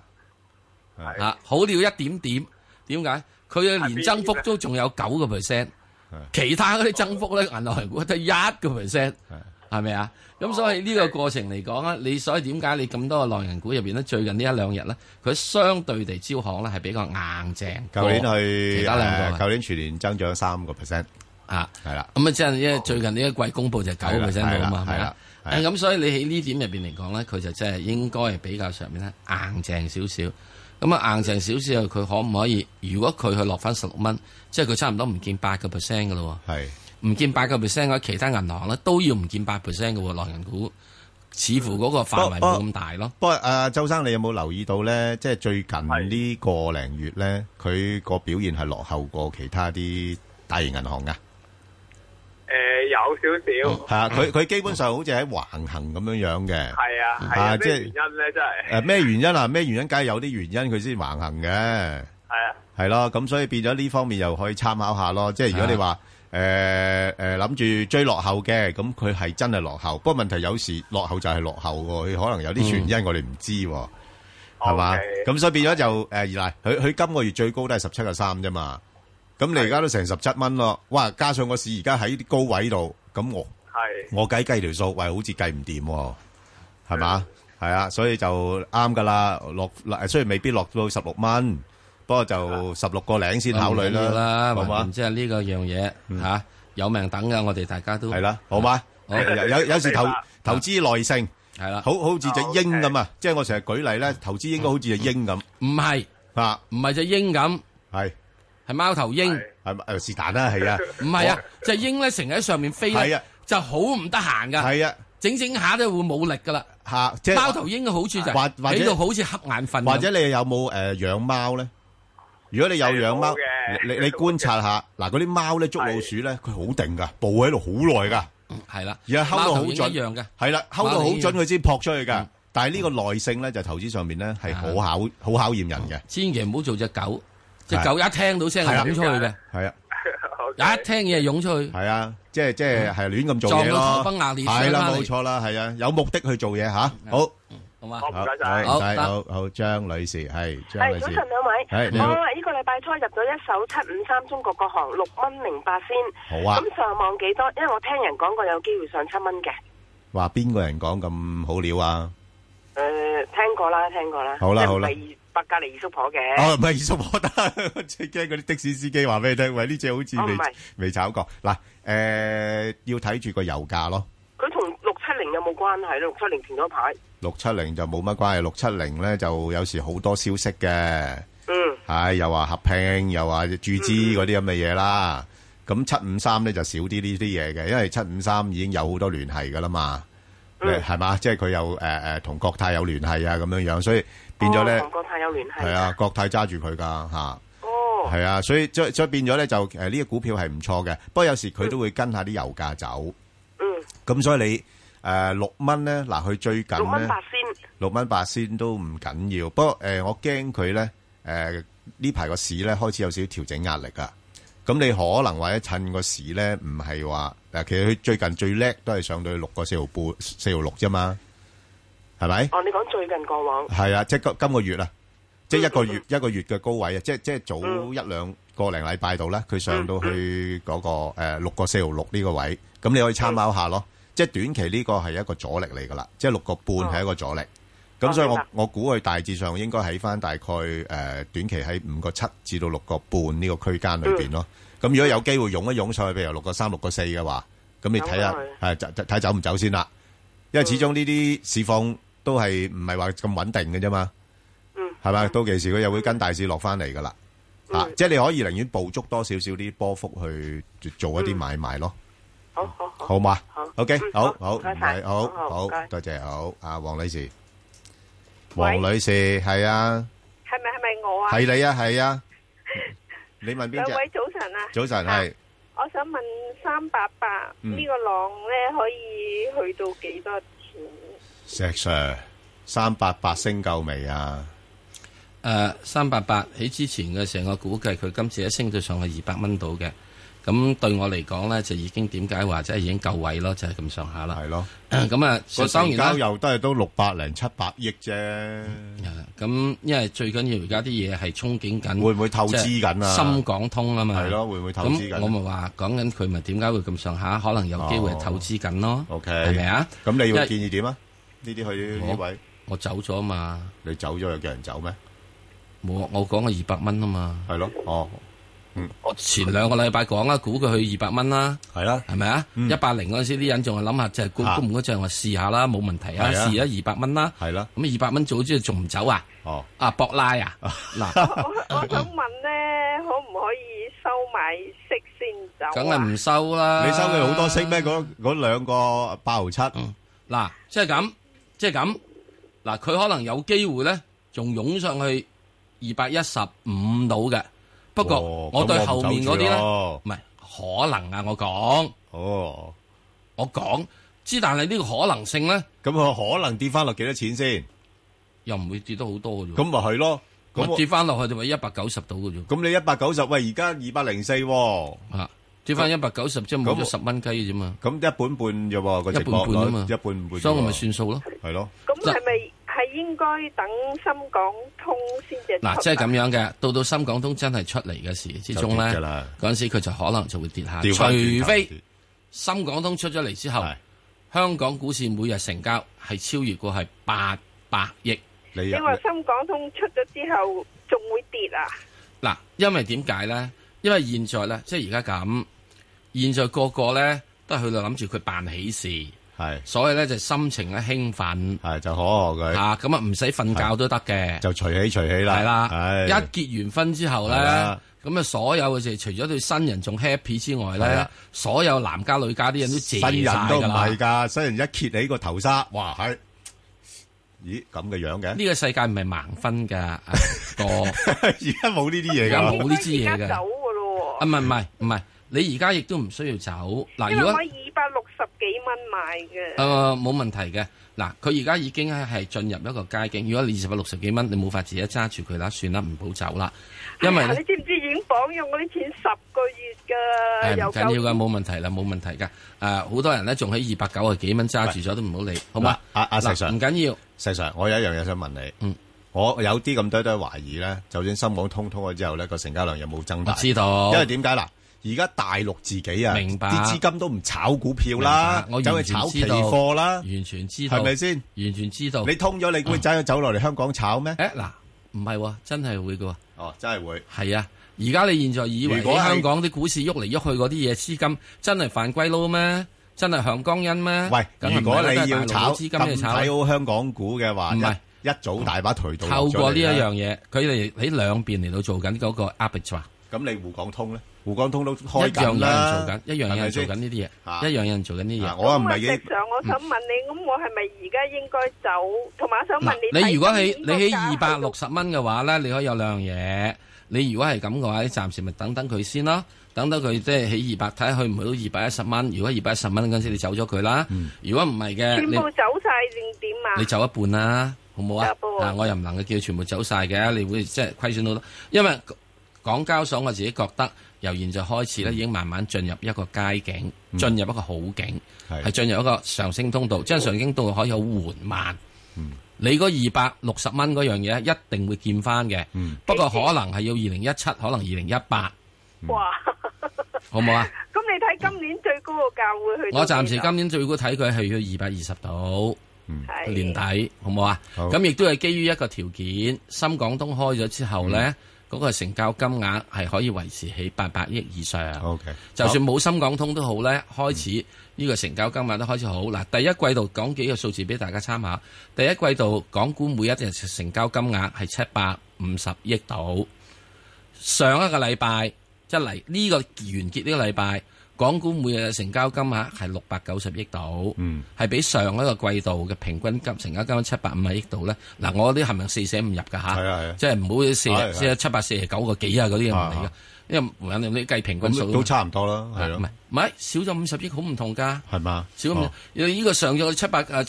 好了一點點。點解？佢嘅年增幅都仲有9%，其他嗰啲增幅咧，銀行股得1%，係咪啊？咁所以呢個過程嚟講啊，你所以點解你咁多個內銀股入邊咧，最近呢1、2日咧，佢相對地招行咧係比較硬淨。 舊年其他兩個， 舊年全年增長3% 啊， 係啦。 咁啊，即係因為最近呢一季公佈就9%到啊嘛，係啦。咁所以你喺呢點入邊嚟講咧，佢就真係應該係比較上面咧硬淨少少。咁啊硬淨少少，佢可唔可以？如果佢去落翻16蚊，即係佢差唔多唔見8%㗎咯喎。係。唔見8%嘅話，其他銀行咧都要唔見8%嘅喎，內銀股似乎嗰個範圍冇咁大咯。 不過周生，你有冇留意到咧？即係最近呢個零月咧，佢個表現係落後過其他啲大型銀行噶。 有少少。 係啊，佢基本上好似喺橫行咁樣嘅。 係啊，即係原因咧，真係。 咩原因啊？咩原因？梗係有啲原因佢先橫行嘅。係啊。 係咯，咁所以變咗呢方面又可以參考下咯。即係如果你話諗住追落後嘅，咁佢係真係落後。不過問題有時落後就係落後喎，佢可能有啲原因我哋唔知喎，係嘛？咁所以變咗就嗱，佢今個月最高都係17.3啫嘛。咁你而家都成17蚊咯，哇！加上個市而家喺啲高位度，咁我計條數，喂，好似計唔掂喎，係嘛？係啊，所以就啱噶啦，雖然未必落到16蚊。不過就16個零先考慮啦，好嘛？ 即係呢個樣嘢吓，有命等噶，我哋大家都係啦，好嘛？有時投資耐性係啦， 好似隻鷹咁啊！即係我成日舉例咧，投資應該好似隻鷹咁， 唔係啊， 唔係隻鷹咁，係貓頭鷹， 係是但啦，係啊， 唔係啊，隻鷹咧成日喺上面飛咧，就好唔得閒噶， 係啊， 整下都會冇力噶啦， 即係貓頭鷹嘅好處就係喺度好似瞌眼瞓， 或者你有冇養貓咧？如果你有養貓，你觀察下，嗱嗰啲貓咧捉老鼠咧，佢好定噶，步喺度好耐噶， 係啦， 而家睺到好準一樣嘅， 係啦，睺到好準佢先撲出去噶。但係呢個耐性咧，就投資上面咧係好考驗人嘅。 千祈唔好做隻狗，隻狗一聽到聲就湧出去嘅， 係啊， 一聽嘢湧出去， 係啊，即係係亂咁做嘢咯， 撞到頭崩額裂， 係啦，冇錯啦，係啊，有目的去做嘢吓，好。 好嘛， 唔該晒， 好，張女士係張女士， 早晨兩位， 係我呢個禮拜初入咗一手753中國國航6.08先， 好啊， 咁上望幾多？因為我聽人講過有機會上7蚊嘅。 話邊個人講咁好料啊？ 聽過啦。 好啦， 百佳麗二叔婆嘅。 哦，唔係二叔婆得，最驚嗰啲的士司機話俾你聽，喂呢隻好似未炒過。嗱，要睇住個油價咯。 佢同670有冇關係咧？670停咗牌。 670就冇乜關係，670咧就有時好多消息嘅，係又話合併，又話注資嗰啲咁嘅嘢啦。咁753咧就少啲呢啲嘢嘅，因為753已經有好多聯繫噶啦嘛，係嘛？即係佢有同國泰有聯繫啊咁樣樣，所以變咗咧， 同國泰有聯繫。 係啊，國泰揸住佢噶吓，係啊，所以變咗咧就呢個股票係唔錯嘅，不過有時佢都會跟下啲油價走，咁所以你。6蚊咧，嗱佢最近咧6蚊8仙都唔緊要，不過我驚佢咧呢排個市咧開始有少少調整壓力啊，咁你可能或者趁個市咧唔係話其實佢最近最叻都係上到去6個4毫半4毫6啫嘛，係咪？ 哦，你講最近過往係啊，即係今個月啊，即係一個月嘅高位啊，即係早1-2個零禮拜度咧，佢上到去嗰個6個4毫6呢個位，咁你可以參考下咯。即係短期呢個係一個阻力嚟噶啦，即係6個半係一個阻力，咁所以我估佢大致上應該喺翻大概短期喺5個7至到6個半呢個區間裏邊咯。咁如果有機會湧一湧上去，譬如6個3、6個4嘅話，咁你睇下睇走唔走先啦。因為始終呢啲市況都係唔係話咁穩定嘅啫嘛，係咪？到期時佢又會跟大市落翻嚟噶啦，即係你可以寧願捕捉多少少啲波幅去做一啲買賣咯。好嘛？OK，好，唔該，好，多謝，好，阿黃女士，黃女士係啊， 係咪我啊？ 係你啊，係啊，你問邊隻？ 兩位早晨啊， 早晨係。 我想問388呢個浪咧可以去到幾多錢？ 石 Sir， 388升夠未啊 ？388喺之前嘅時候，我估計佢今次一升到上去200蚊度嘅。咁對我嚟講咧，就已經點解話即係已經夠位咯，就係咁上下啦。係咯。咁啊，當然啦， 成交又都係都600零700億啫。 咁因為最緊要而家啲嘢係憧憬緊， 會唔會透支緊啊？ 深港通啊嘛。 係咯，會唔會透支緊？ 咁我咪話講緊佢咪點解會咁上下？可能有機會係透支緊咯。 OK， 係咪啊？ 咁你要建議點啊？呢啲去呢位， 我走咗啊嘛。 你走咗又叫人走咩？ 冇，我講個200蚊啊嘛。 係咯， 我前2個禮拜講啦，估佢去200蚊啦， 係啦， 係咪啊？180嗰陣時啲人仲係諗下，即係估唔估，就係話試下啦，冇問題啊，試下200蚊啦， 係啦。 咁200蚊做咗之後仲唔走啊？博拉啊！嗱， 我想問咧，可唔可以收埋息先走？ 梗係唔收啦！ 你收佢好多息咩？嗰2個8毫7。 嗱，即係咁，嗱，佢可能有機會咧，仲湧上去215度嘅。不過我對後面嗰啲咧，唔係可能啊，我講哦， 我講之，但係呢個可能性咧， 咁佢可能跌翻落幾多錢先？ 又唔會跌得好多嘅啫。 咁咪係咯， 咁跌翻落去就話190度嘅啫。 咁你190，喂，而家204 啊，跌翻190，即係冇咗10蚊雞嘅啫嘛。 咁一半半啫喎，個一半半啊嘛， 一半半， 所以我咪算數咯。 係咯。 咁係咪係應該等深港通先至？ 嗱，即係咁樣嘅，到深港通真係出嚟嘅時之中咧，嗰陣時佢就可能就會跌下，除非深港通出咗嚟之後，香港股市每日成交係超越過係800億。 你話深港通出咗之後仲會跌啊？ 嗱，因為點解咧？因為現在咧，即係而家咁，現在個個咧都係去到諗住佢辦喜事， 係， 所以咧就心情咧興奮， 係就可賀佢嚇，咁啊唔使瞓覺都得嘅， 就隨喜啦， 係啦，一結完婚之後咧，咁啊所有嘅事，除咗對新人仲 happy 之外咧，所有男家女家啲人都謝曬㗎啦。新人都唔係㗎，新人一揭起個頭紗，哇係！咦咁嘅樣嘅？ 呢個世界唔係盲分㗎，哥。 而家冇呢啲嘢㗎， 而家冇呢啲嘢㗎。 走㗎咯喎。 啊唔係，你而家亦都唔需要走。嗱，如果我260幾蚊買嘅。 冇問題嘅。嗱，佢而家已經係進入一個街境。如果你260幾蚊，你冇法自己揸住佢啦，算啦，唔好走啦。因為你知唔知已經綁用嗰啲錢10個月㗎？ 唔緊要㗎，冇問題啦，冇問題㗎。好多人咧仲喺290幾蚊揸住咗都唔好理，好嘛？ 阿石 Sir 唔緊要。 石 Sir，我有一樣嘢想問你。我有啲咁多懷疑咧，就算深港通咗之後咧，個成交量有冇增大？ 我知道。 因為點解嗱？而家大陸自己啊， 明白， 啲資金都唔炒股票啦，走去炒期貨啦， 完全知道， 係咪先？ 完全知道。 你通咗，你會走落嚟香港炒咩？ 嗱，唔係喎，真係會㗎喎。 哦，真係會。 係啊，而家你現在以為喺香港啲股市喐嚟喐去嗰啲嘢資金，真係犯歸撈咩？真係向江恩咩？ 喂，如果你要炒資金嚟炒， 睇好香港股嘅話，唔係一早大把渠道。 透過呢一樣嘢，佢哋喺兩邊嚟到做緊嗰個 arbitrage。 咁你滬港通咧？滬港通都開緊啦， 一樣有人做緊呢啲嘢，一樣有人做緊呢啲嘢。 我唔係嘅。我想問你，咁我係咪而家應該走？同埋我想問你， 你如果你喺260蚊嘅話咧，你可以有兩樣嘢。你如果係咁嘅話，你暫時咪等佢先咯，等佢即係喺200，睇下去唔去到210蚊。如果210蚊嗰陣時你走咗佢啦，如果唔係嘅， 全部走晒定點啊？ 你走一半啦，好唔好啊？我又唔能夠叫全部走晒嘅，你會即係虧損到多，因為港交所我自己覺得由現在開始咧，已經慢慢進入一個街景，進入一個好景，係進入一個上升通道，即係上升通道可以好緩慢。你嗰260蚊嗰樣嘢一定會見翻嘅，不過可能係要2017，可能2018。 哇！ 好唔好啊？ 咁你睇今年最高個價會去到？ 我暫時今年最高睇佢係去220度，年底好唔好啊？咁亦都係基於一個條件，深港通開咗之後咧，嗰個成交金額係可以維持喺800億以上。 OK， 就算冇深港通都好咧，開始呢個成交金額都開始好。嗱，第一季度講幾個數字俾大家參考。第一季度港股每一日成交金額係750億度。上一個禮拜即係嚟呢個完結呢個禮拜，港股每日嘅成交金額係690億度，係比上一個季度嘅平均成交金額750億度咧。嗱，我啲係咪4捨5入㗎嚇？即係唔好749個幾啊嗰啲唔嚟㗎。因為無論你計平均數都差唔多啦，係咯。 唔係少咗50億，好唔同㗎。 係嘛？ 少咁，呢個上咗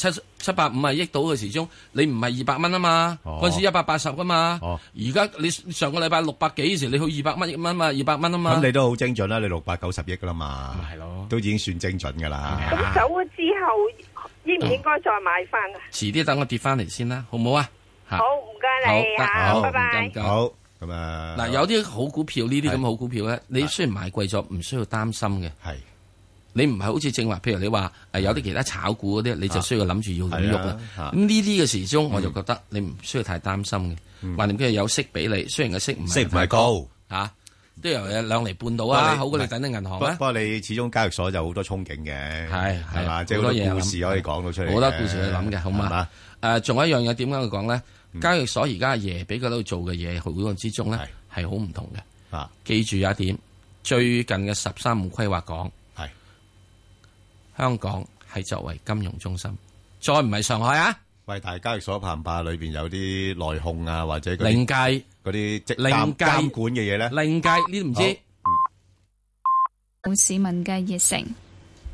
750億度嘅時鐘，你唔係200蚊啊嘛？嗰陣時180㗎嘛。而家你上個禮拜600幾時，你去200蚊嘛？200蚊啊嘛。 咁你都好精準啦，你690億㗎啦嘛。 係咯， 都已經算精準㗎啦。 咁走咗之後，應唔應該再買翻啊？ 遲啲等我跌翻嚟先啦，好唔好啊？ 好，唔該你啊，拜拜。 好。咁啊， 嗱，有啲好股票呢啲咁好股票咧，你雖然買貴咗，唔需要擔心嘅。 係， 你唔係好似正話，譬如你話有啲其他炒股嗰啲，你就需要諗住要點喐啦。咁呢啲嘅時鐘，我就覺得你唔需要太擔心嘅。橫掂佢有息俾你，雖然個息唔係高嚇，都有2厘半到啊，好過你等啲銀行。 不過你始終交易所就好多憧憬嘅，係嘛，即係好多故事可以講到出嚟， 好多故事去諗嘅，好嘛？仲有一樣嘢點解去講咧？交易所而家阿爺俾佢喺度做嘅嘢，好多之中咧係好唔同嘅。記住有一點，最近嘅13五規劃講，香港係作為金融中心，再唔係上海啊。 喂，但係交易所怕唔怕裏邊有啲內控啊，或者另計嗰啲監管嘅嘢咧？ 另計呢都唔知。 市民嘅熱誠。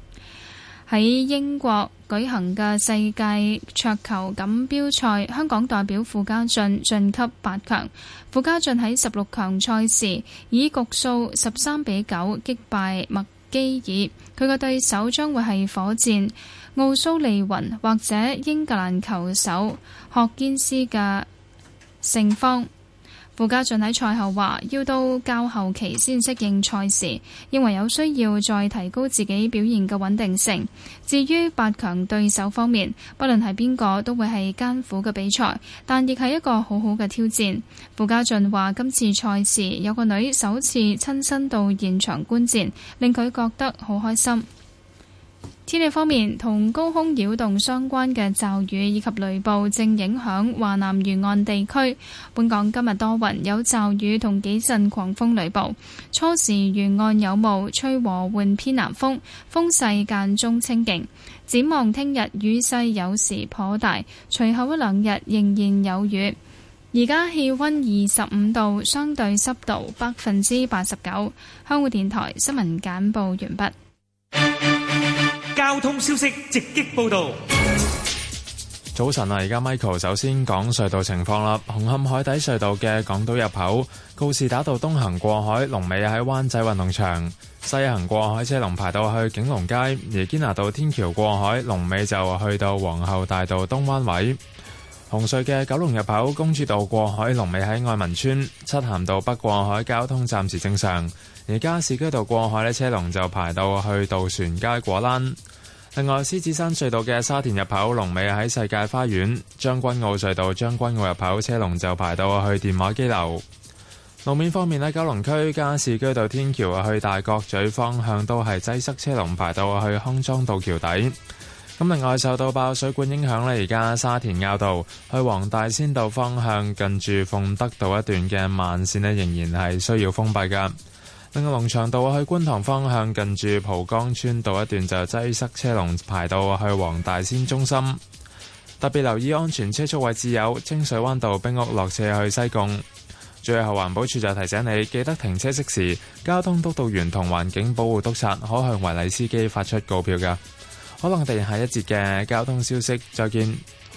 喺英國舉行嘅世界桌球錦標賽，香港代表傅家俊晉級8強。傅家俊喺16強賽事以局數13-9擊敗麥基爾，佢嘅對手將會係火箭奧蘇利雲或者英格蘭球手霍堅斯嘅勝方。傅家俊喺賽後話要到較後期先適應賽事，認為有需要再提高自己表現嘅穩定性。至於8強對手方面，不論係邊個都會係艱苦嘅比賽，但亦係一個好好嘅挑戰。傅家俊話今次賽事有個女首次親身到現場觀戰，令佢覺得好開心。天氣方面，同高空擾動相關嘅驟雨以及雷暴正影響華南沿岸地區。本港今日多雲，有驟雨同幾陣狂風雷暴。初時沿岸有霧，吹和緩偏南風，風勢間中清勁。展望聽日雨勢有時頗大，隨後一兩日仍然有雨。而家氣溫25度，相對濕度89%。香港電台新聞簡報完畢。 交通消息直擊報道。 早晨啊，而家 Michael 首先講隧道情況啦。紅磡海底隧道嘅港島入口告士打道東行過海，龍尾喺灣仔運動場；西行過海車龍排到去景隆街，而堅拿道天橋過海龍尾就去到皇后大道東灣位。紅隧嘅九龍入口公主道過海龍尾喺愛民村，漆咸道北過海交通暫時正常。而加士居道過海呢，車龍就排到去渡船街果欄。另外，獅子山隧道嘅沙田入口龍尾喺世界花園，將軍澳隧道將軍澳入口車龍就排到去電話機樓。路面方面呢，九龍區加士居道天橋去大角咀方向都係擠塞，車龍排到去康莊道橋底。咁另外，受到爆水管影響呢，而家沙田坳道去黃大仙道方向近住鳳德道一段嘅慢線呢，仍然係需要封閉㗎。另外，龍翔道去觀塘方向近住蒲崗村道一段就擠塞，車龍排到去黃大仙中心。特別留意安全車速位置有清水灣道冰屋落斜去西貢。最後，環保署就提醒你記得停車熄匙。交通督導員同環境保護督察可向違例司機發出告票㗎。可能我哋下一節嘅交通消息再見。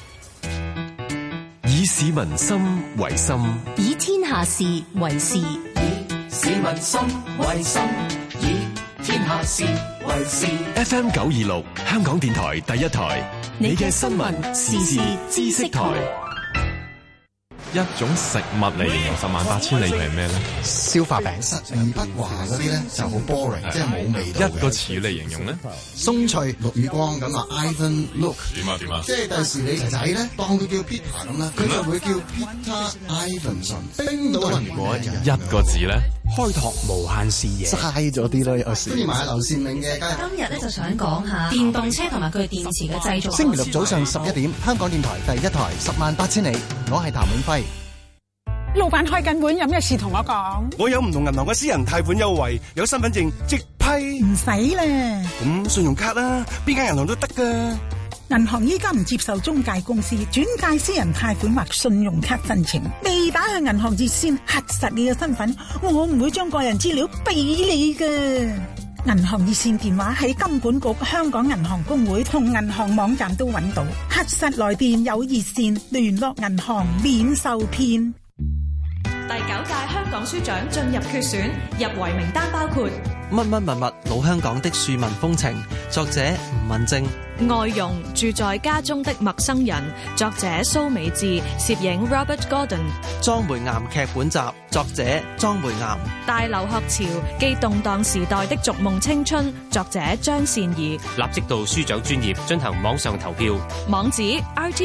以市民心為心， 以天下事為事。 市民心為心，以天下事為事。 FM 926，香港電台第一台，你嘅新聞時事知識台。 一種食物嚟形容18000里係咩咧？ 消化餅，實不華嗰啲咧就好 boring，即係冇味道。 一個詞嚟形容咧， 鬆脆陸宇光咁啊 ，Ivan Look 點啊？ 即係第時你仔咧當佢叫 Peter 咁啦，佢就會叫 Peter Ivanson。冰島人如果一個字咧， 開拓無限視野，齋咗啲咯，有時。跟住埋劉善明嘅今日咧就想講下電動車同埋佢電池嘅製造。 星期六早上11點，香港電台第一台18000里，我係譚永輝。 老闆開緊會，有咩事同我講？ 我有唔同銀行嘅私人貸款優惠，有身份證即批。 唔使啦。 咁信用卡啦，邊間銀行都得噶。 銀行依家唔接受中介公司轉介私人貸款或信用卡申請，未打去銀行熱線核實你嘅身份，我唔會將個人資料俾你噶。銀行熱線電話喺金管局、香港銀行公會同銀行網站都揾到，核實來電有熱線聯絡銀行免受騙。 第9屆香港書獎進入決選，入圍名單包括乜乜物物老香港的庶民風情，作者吳文正； 外傭住在家中的陌生人，作者蘇美智，攝影 Robert Gordon； 莊梅岩劇本集，作者莊梅岩； 大留學潮記動盪時代的逐夢青春，作者張善儀。 立即到書獎專頁進行網上投票， 網址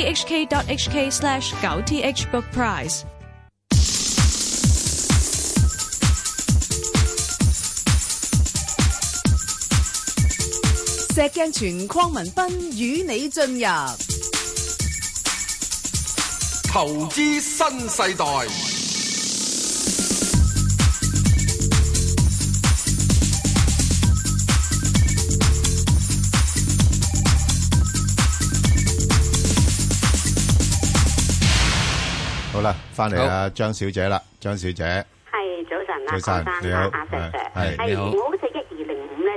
rthk.hk/9thbookprize。 石鏡泉鄺民彬與你進入投資新世代。 好啦，翻嚟啦，張小姐啦，張小姐。 係早晨啊， 早晨，你好， 阿石石， 係你好。 我好似1205咧，中信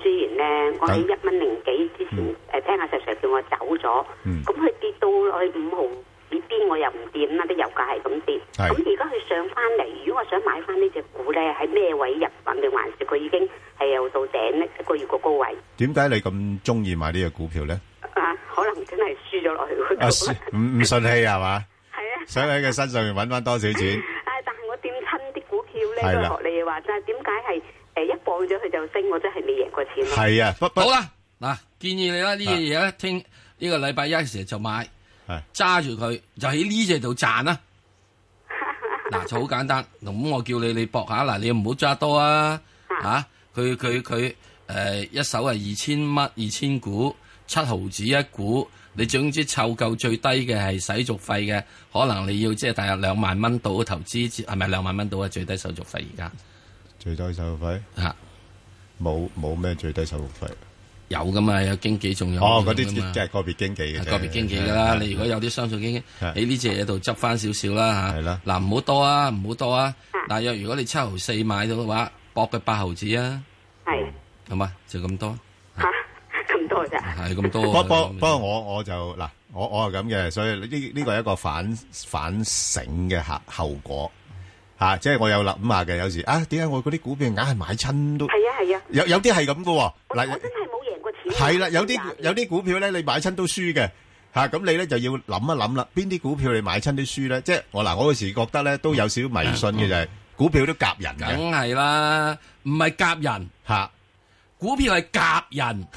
前咧，我喺1.0幾之前聽阿石 Sir 叫我走咗，咁佢跌到落去5毫紙邊，我又唔掂啦，啲油價係咁跌。咁而家佢上翻嚟，如果我想買翻呢隻股咧，喺咩位入份定還是佢已經係又到頂咧一個月個高位？ 點解你咁中意買呢隻股票咧？ 可能真係輸咗落去嗰度。 唔順氣係嘛？ 係啊， 想喺佢身上面揾翻多少錢？ 但係我掂親啲股票咧，都學你話齋，點解係一放咗佢就升？我真係未贏過錢咯。係啊， 好啦，嗱，建議你啦，呢樣嘢咧，聽呢個禮拜一時就買，揸住佢就喺呢隻度賺啦。嗱，就好簡單。咁我叫你搏下，嗱，你唔好揸多啊。佢一手係2000股，7毫子一股。你總之湊夠最低嘅係使續費嘅，可能你要即係大約2萬蚊到嘅投資，係咪2萬蚊到啊？最低手續費而家最低手續費冇咩最低手續費， 有噶嘛？有經紀仲有嗰啲即係個別經紀嘅， 個別經紀噶啦。你如果有啲商數經紀喺呢隻嘢度執翻少少啦嚇，係啦。嗱，唔好多啊，唔好多啊。大約如果你7毫4買到嘅話，搏佢8毫子啊，係，係嘛？就咁多。係咁多。不過我就嗱，我係咁嘅，所以呢個係一個反省嘅後果嚇，即係我有諗下嘅。有時點解我嗰啲股票硬係買親都係啊，有啲係咁嘅喎。嗱，我真係冇贏過錢。係啦，有啲股票咧，你買親都輸嘅嚇，咁你咧就要諗一諗啦。邊啲股票你買親都輸咧？即係我嗰時覺得咧都有少少迷信嘅，就係股票都夾人嘅。 梗係啦，唔係夾人嚇，股票係夾人。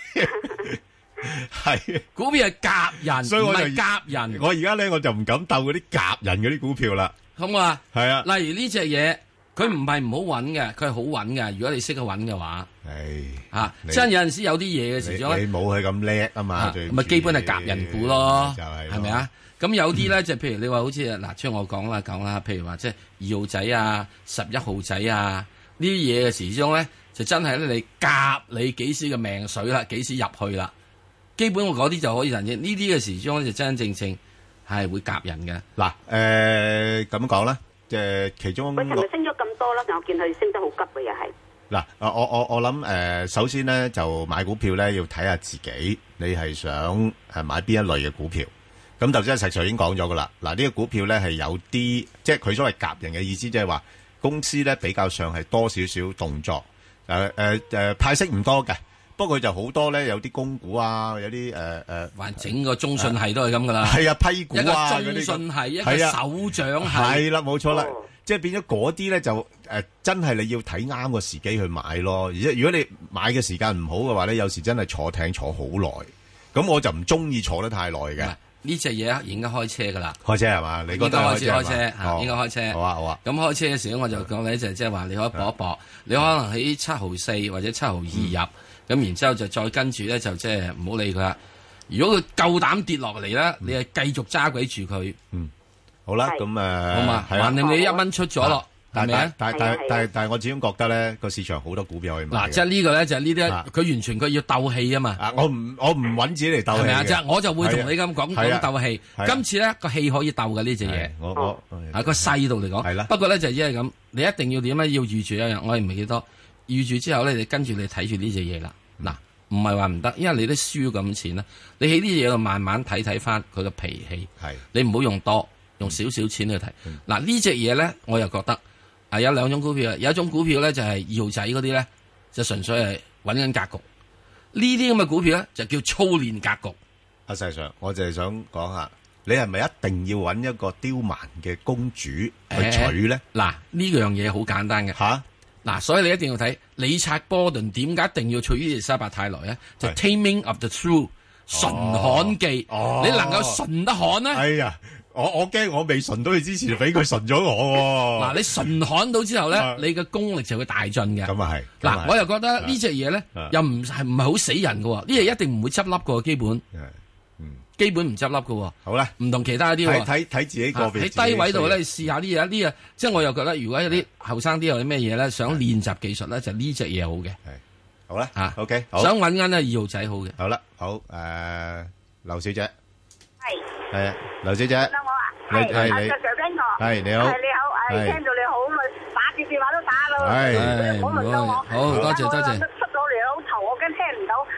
係股票係夾人， 所以我就唔係夾人。 我而家咧我就唔敢鬥嗰啲夾人嗰啲股票啦。 咁啊， 係啊。 例如呢隻嘢，佢唔係唔好揾嘅，佢係好揾嘅。如果你識得揾嘅話，真有陣時有啲嘢嘅時候， 你冇佢咁叻啊嘛。 咪基本係夾人股咯，係咪啊？咁有啲咧就譬如你話好似嗱，即係我講啦，譬如話即係2號仔啊、11號仔啊呢啲嘢嘅時鐘咧，就真係咧你夾你幾時嘅命水啦，幾時入去啦。基本我嗰啲就可以人嘅，呢啲嘅時鐘就真真正正係會夾人嘅。 嗱，咁講啦，即係其中佢係咪升咗咁多啦？我見佢升得好急嘅又係。 嗱，我諗首先咧就買股票咧要睇下自己，你係想係買邊一類嘅股票。咁頭先石 Sir已經講咗噶啦。嗱，呢個股票咧係有啲，即係佢所謂夾人嘅意思，即係話公司咧比較上係多少少動作，派息唔多嘅。不過佢就好多咧，有啲供股啊，有啲還整個中信系都係咁噶啦。 係啊，批股啊， 一個中信系，一個首長系。 係啦，冇錯啦，即係變咗嗰啲咧就真係你要睇啱個時機去買咯。而且如果你買嘅時間唔好嘅話咧，有時真係坐艇坐好耐。咁我就唔中意坐得太耐嘅。 呢隻嘢應該開車噶啦。 開車係嘛？你覺得開車應該開車。 好啊好啊。 咁開車嘅時候我就講咧就即係話你可以搏一搏，你可能喺7毫4或者7毫2入。咁然之後就再跟住咧，就即係唔好理佢啦。如果佢夠膽跌落嚟咧，你係繼續揸鬼住佢。 好啦，咁好嘛，橫掂你1蚊出咗咯，係咪啊？ 但係我始終覺得咧，個市場好多股票可以買。 嗱，即係呢個咧就係呢啲，佢完全佢要鬥氣啊嘛。 我唔揾自己嚟鬥氣。係咪啊？即係我就會同你咁講鬥氣。今次咧個氣可以鬥嘅呢隻嘢。 我個細度嚟講。係啦。不過咧就因為咁，你一定要點咧？要預住一樣，我係唔係幾多？預住之後咧，你跟住你睇住呢隻嘢啦。嗱，唔係話唔得，因為你都輸咁錢啦。你喺呢隻嘢度慢慢睇翻佢嘅脾氣。係，你唔好用多，用少少錢去睇。嗱，呢隻嘢咧，我又覺得有兩種股票，有一種股票咧就係2號仔嗰啲咧，就純粹係揾緊格局。呢啲咁嘅股票咧就叫操練格局。 阿石 Sir，我就係想講下，你係咪一定要揾一個刁蠻嘅公主去娶咧？ 嗱，呢樣嘢好簡單嘅吓。嗱，所以你一定要睇理察波頓點解一定要娶伊麗莎白太來咧？就 Taming of the Shrew 馴悍記，你能夠馴得悍咧？ 哎呀，我驚我未馴到佢之前，俾佢馴咗我。 嗱，你馴悍到之後咧，你嘅功力就會大進嘅。 咁啊係。 嗱，我又覺得呢隻嘢咧，又唔係好死人嘅，呢隻一定唔會執笠嘅，基本。基本唔執笠嘅。好啦，唔同其他啲。 睇自己個別。 喺低位度咧，試下呢嘢，即係我又覺得，如果有啲後生啲有啲咩嘢咧，想練習技術咧，就呢隻嘢好嘅。 係，好啦，OK，好。 想揾緊2號仔好嘅。 好啦，好，劉小姐。係劉小姐。 得我啊。係你。 係你好。 係你好，聽到你好，打住電話都打咯。 係。 好， 多謝。 出咗2頭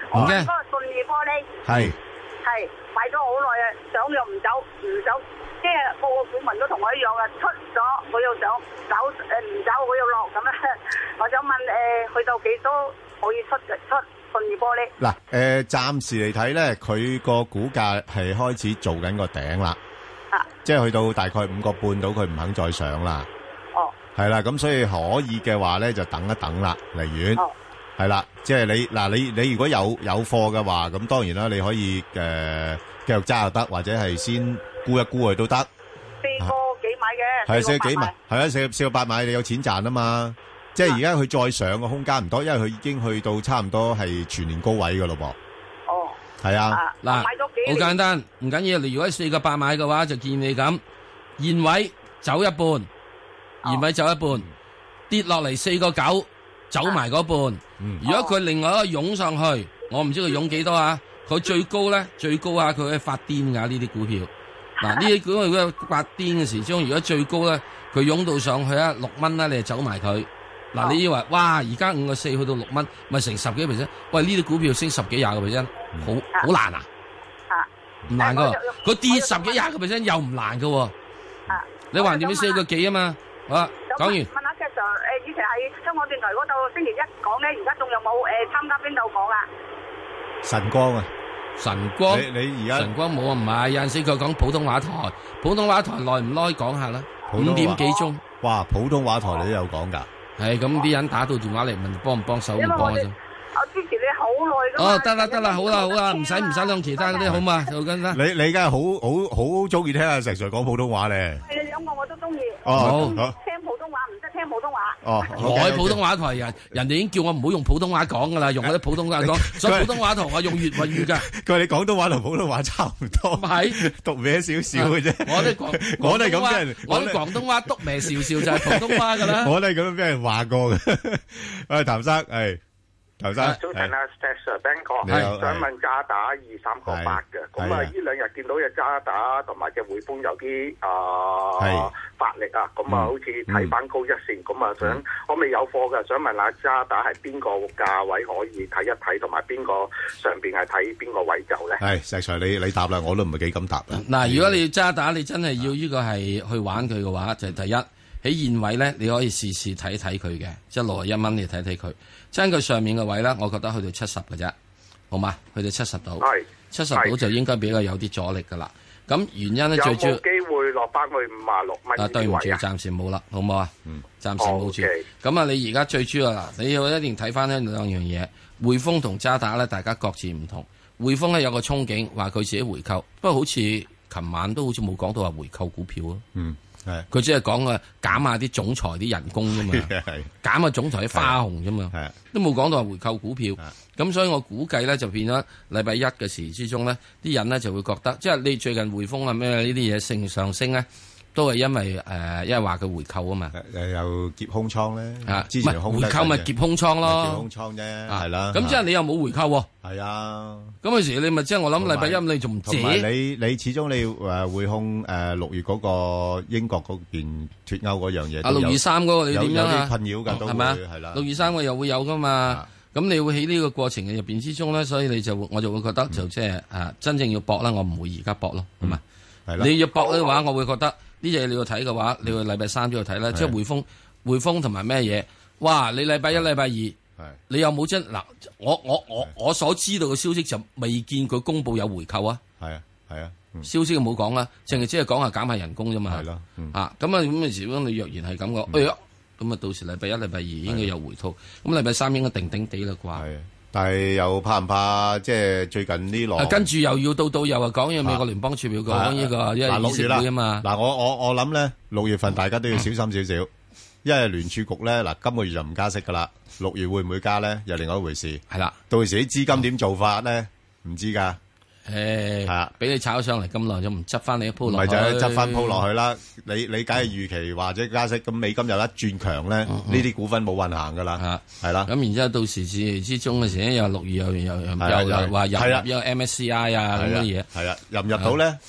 唔驚。 嗰個信義玻璃係買咗好耐啊，想又唔走，即係個個股民都同我一樣啊，出咗我又想走，唔走我又落咁啊！我想問去到幾多可以出信義玻璃？ 嗱暫時嚟睇咧，佢個股價係開始做緊個頂啦，即係去到大概5個半到，佢唔肯再上啦。 哦， 係啦，咁所以可以嘅話咧，就等一等啦，離遠。係啦，即係你如果有貨嘅話，咁當然啦，你可以繼續揸又得，或者係先沽一沽佢都得。 4個幾買嘅， 係4個幾買，係啊，4個8買，你有錢賺啊嘛。即係而家佢再上嘅空間唔多，因為佢已經去到差唔多係全年高位噶咯噃。 哦， 係啊， 嗱，好簡單，唔緊要。你如果4個8買嘅話，就建議你咁現位走一半，現位走一半，跌落嚟4個9。走埋嗰半，如果佢另外一個湧上去，我唔知佢湧幾多啊？佢最高啊，佢可以發癲噶呢啲股票。嗱，呢啲股票發癲嘅時鐘，如果最高咧，佢湧到上去啊6蚊啦，你就走埋佢。嗱，你以為哇，而家5個4去到6蚊，咪成10幾%？喂，呢啲股票升10幾20個%，好難啊？唔難噶，佢跌10幾20個%又唔難噶。你橫掂你4個幾啊嘛？好啦，講完。 以前喺香港電台嗰度星期一講咧，而家仲有冇參加邊度講啊？ 晨光啊， 晨光， 你而家晨光冇啊？唔係，有陣時佢講普通話台，普通話台耐唔耐講下啦？5點幾鐘。 哇，普通話台你都有講噶？ 係咁，啲人打到電話嚟問幫唔幫手，唔幫嘅啫。 我支持你好耐噶嘛。 哦，得啦，好啦，唔使諗其他嗰啲好嘛，就咁啦。 你而家好中意聽阿石 Sir 講普通話咧？ 係兩個我都中意。 好。 聽普通話唔識聽普通話。 哦， 我喺普通話台人哋已經叫我唔好用普通話講噶啦，用嗰啲普通話講，所以普通話同我用粵語噶。佢話你廣東話同普通話差唔多，係讀歪少少嘅啫。我都係咁俾人，我啲廣東話讀歪少少就係普通話噶啦。我都係咁樣俾人話過嘅。喂，譚生，係。早晨啊 ，Sir Ben 哥，想問渣打23個8嘅，咁啊呢兩日見到隻渣打同埋隻匯豐有啲發力啊，咁啊好似睇翻高一線，咁啊想我未有貨嘅，想問下渣打係邊個價位可以睇一睇，同埋邊個上邊係睇邊個位走咧？係石 Sir，你答啦，我都唔係幾敢答啦。 嗱，如果你渣打，你真係要呢個係去玩佢嘅話，就係第一。喺現位咧，你可以試睇睇佢嘅，即係61蚊，你睇睇佢。將佢上面嘅位咧，我覺得去到70嘅啫，好嘛？去到70度，70度就應該比較有啲阻力噶啦。咁原因咧最主要有冇機會落翻去56蚊？ 對唔住，暫時冇啦，好唔好啊？暫時冇住。咁啊，你而家最主要啦，你要一定睇翻呢兩樣嘢。匯豐同渣打咧，大家各自唔同。匯豐咧有個憧憬，話佢自己回購，不過好似琴晚都好似冇講到話回購股票咯。係，佢只係講啊減下啲總裁啲人工啫嘛，減下總裁啲花紅啫嘛，都冇講到話回購股票。咁所以我估計咧就變咗禮拜一嘅時之中咧，啲人咧就會覺得，即係你最近匯豐啊咩呢啲嘢上升咧，都係因為因為話佢回購啊嘛， 又劫空倉咧，之前回購咪劫空倉咯， 劫空倉啫，係啦。 咁即係你又冇回購喎， 係啊。 咁嗰時你咪即係我諗禮拜一你仲唔借？ 同埋你始終你匯控6月嗰個英國嗰邊脫歐嗰樣嘢 ，623嗰個你點樣啊？ 有啲困擾㗎，都會係啦。 623個又會有㗎嘛？咁你會喺呢個過程嘅入邊之中咧，所以我就會覺得就即係真正要搏啦，我唔會而家搏咯，係咪？係啦。你要搏嘅話，我會覺得呢隻你要睇嘅話，你會禮拜三都要睇啦。即係匯豐同埋咩嘢？哇！你禮拜一、禮拜二，你有冇真嗱？我所知道嘅消息就未見佢公佈有回購啊。係啊，係啊。消息冇講啦，淨係只係講下減下人工啫嘛。係咯。咁啊咁嘅時，你若然係咁講，哎呀〜咁啊，到時禮拜一、禮拜二應該有回吐，咁禮拜三應該定定地啦啩。係，但係又怕唔怕？即係最近呢輪，跟住又要到又話講嘢美國聯邦儲備局講呢個，因為議息會啊嘛。嗱，我諗咧，6月份大家都要小心少少，因為聯儲局咧嗱，今個月就唔加息噶啦，6月會唔會加咧？又另外一回事。係啦，到時啲資金點做法咧？唔知㗎。係啊，俾你炒上嚟咁耐，就唔執翻你一鋪落去，咪就係執翻鋪落去啦。你梗係預期或者加息，咁美金又一轉強咧，呢啲股份冇運行噶啦，係啦。咁然之後到時之中嘅時咧，又6月又話入一個 MSCI 啊咁嘅嘢，係啊，入唔入到咧？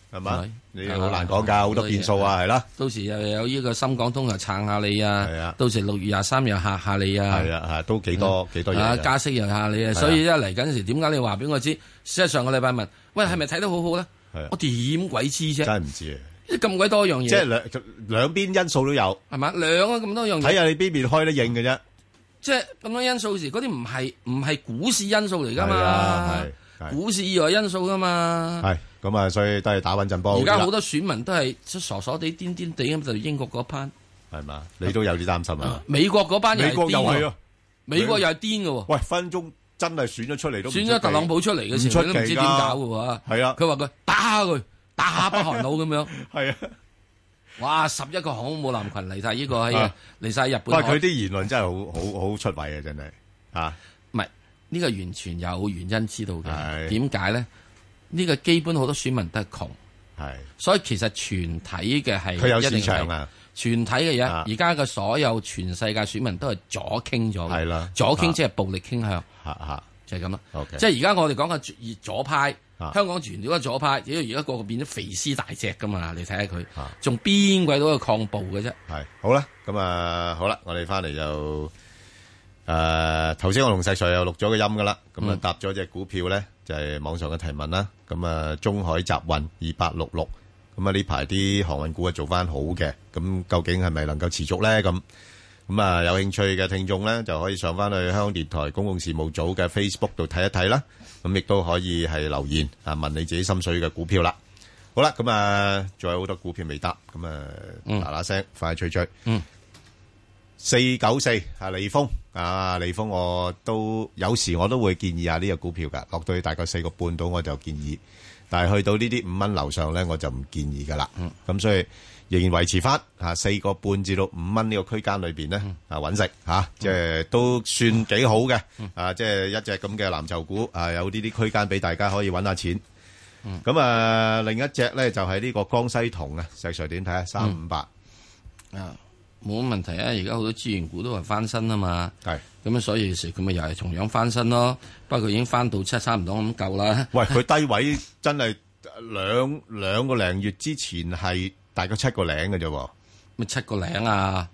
係嘛？你好難講㗎，好多變數啊，係啦。 到時又有呢個深港通又撐下你啊，到時6月23又嚇下你啊， 係啊，都幾多嘢。 加息又嚇你啊，所以一嚟緊時點解你話俾我知？事實上個禮拜問，喂係咪睇得好好咧？我點鬼知啫？ 真係唔知啊！ 咁鬼多樣嘢， 即係兩邊因素都有， 係嘛？兩個咁多樣嘢， 睇下你邊邊開得應嘅啫。 即係咁多因素時，嗰啲唔係股市因素嚟噶嘛？股市以外因素噶嘛？ 係咁啊，所以都係打穩陣波。 而家好多選民都係傻傻地、癲癲地咁，就英國嗰班係嘛？你都有啲擔心啊？ 美國嗰班又係癲喎，美國又係癲嘅喎。 喂，分鐘真係選咗出嚟都選咗特朗普出嚟嘅時候，都唔知點搞嘅喎。 係啊， 佢話佢打北韓佬咁樣。 係啊。 哇！11個航空母艦群嚟晒呢個嚟晒日本。 喂，佢啲言論真係好出位啊！真係啊， 唔係呢個完全有原因知道嘅。點解咧？呢個基本好多選民都係窮，係，所以其實全體嘅係佢有市場啊。 全體嘅嘢，而家嘅所有全世界選民都係左傾咗嘅，係啦，左傾即係暴力傾向，就係咁啦。即係而家我哋講嘅左派。香港全咗個左派，而家個個變咗肥屍大隻噶嘛？你睇下佢，仲邊鬼到去抗暴嘅啫？係好啦，咁好啦，我哋翻嚟就頭先我同石 Sir 又錄咗個音噶啦，咁搭咗隻股票咧，就係網上嘅提問啦。咁中海集運2866，咁呢排啲航運股啊做翻好嘅，咁究竟係咪能夠持續咧？咁有興趣嘅聽眾咧，就可以上翻去香港電台公共事務組嘅 Facebook 度睇一睇啦。咁亦都可以係留言問你自己心水嘅股票啦。好啦，咁仲有好多股票未答，咁嗱聲快脆追。494利豐利豐我都有時我都會建議下呢個股票噶，落到去大概4個半度我就建議，但係去到呢啲5蚊樓上咧我就唔建議噶啦。咁所以仍然維持翻4個半至到5蚊呢個區間裏邊咧揾食即係都算幾好嘅即係一隻咁嘅藍籌股有呢啲區間俾大家可以揾下錢。咁另一隻咧就係呢個江西銅啊，石 Sir 點睇啊？358 冇乜問題啊！而家好多資源股都係翻身啊嘛，係咁所以時佢咪又係同樣翻身咯。不過已經翻到差唔多咁夠啦。 喂，佢低位真係兩個零月之前係大概7個零嘅啫， 咩7個零啊？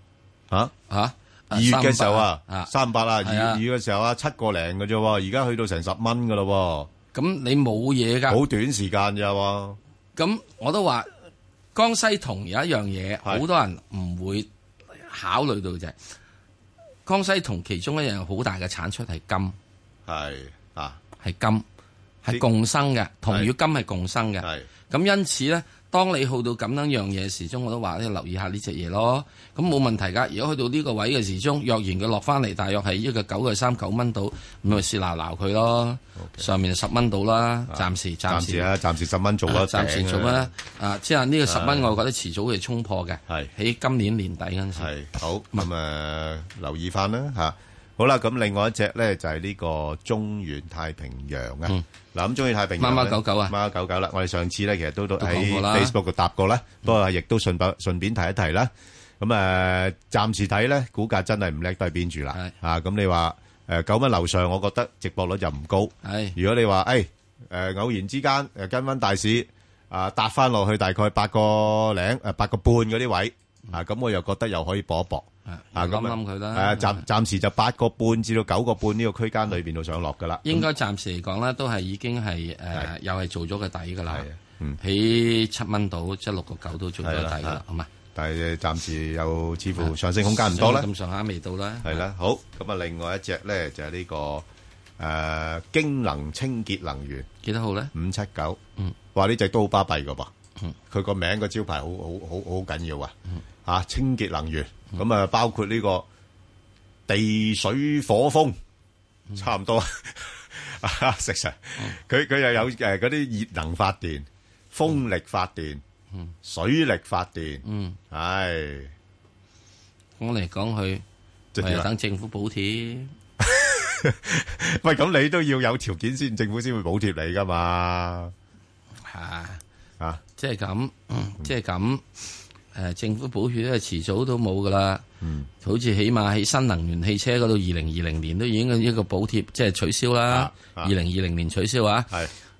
2月嘅時候358啦，2月嘅時候7個零嘅啫，而家去到成10蚊噶咯。 咁你冇嘢噶？ 好短時間咋？ 咁我都話江西銅有一樣嘢，好多人唔會考慮到就係江西銅其中一樣好大嘅產出係金，係金係共生嘅，銅與金係共生嘅。咁因此咧，當你去到咁樣嘢時鐘，我都話你留意下呢隻嘢咯。咁冇問題㗎。如果去到呢個位嘅時鐘，若然佢落翻嚟，大約係一個9.39蚊到，咁咪試鬧佢咯。上面10蚊到啦，暫時暫時10蚊做啦， 暫時做啦。即係呢個10蚊，我覺得遲早會衝破嘅。係喺今年年底嗰陣時。係好咁留意翻啦嚇。好啦，咁另外一隻咧就係呢個中原太平洋啊。嗱，咁中原太平洋孖孖99啊， 孖孖99啦。我哋上次咧其實都喺 Facebook 度答過啦，不過亦都順便提一提啦。咁暫時睇咧，股價真係唔叻都係邊住啦。咁你話9蚊樓上，我覺得值博率就唔高。係，如果你話偶然之間跟翻大市搭翻落去大概8個半嗰啲位咁我又覺得又可以搏一搏。 咁諗佢啦。 暫時就8個半至到9個半呢個區間裏邊度上落噶啦。 應該暫時嚟講咧，都係已經係又係做咗個底噶啦。喺7蚊度，即係6個9都做咗個底噶啦，好嘛？ 但係暫時又似乎上升空間唔多啦。 咁上下未到啦。 係啦，好咁另外一隻咧就係呢個京能清潔能源， 幾多號咧 ？579。話呢隻都好巴閉噶噃。佢個名個招牌好緊要啊！清潔能源。咁包括呢個地水火風，差唔多食實。佢又有嗰啲熱能發電、風力發電、水力發電。 講嚟講去，就等政府補貼。 喂，咁你都要有條件先，政府先會補貼你噶嘛？ 即係咁，即係咁。政府補貼咧，遲早都冇噶啦。好似起碼喺新能源汽車嗰度，2020年都已經一個補貼，即係取消啦。2020年取消啊。係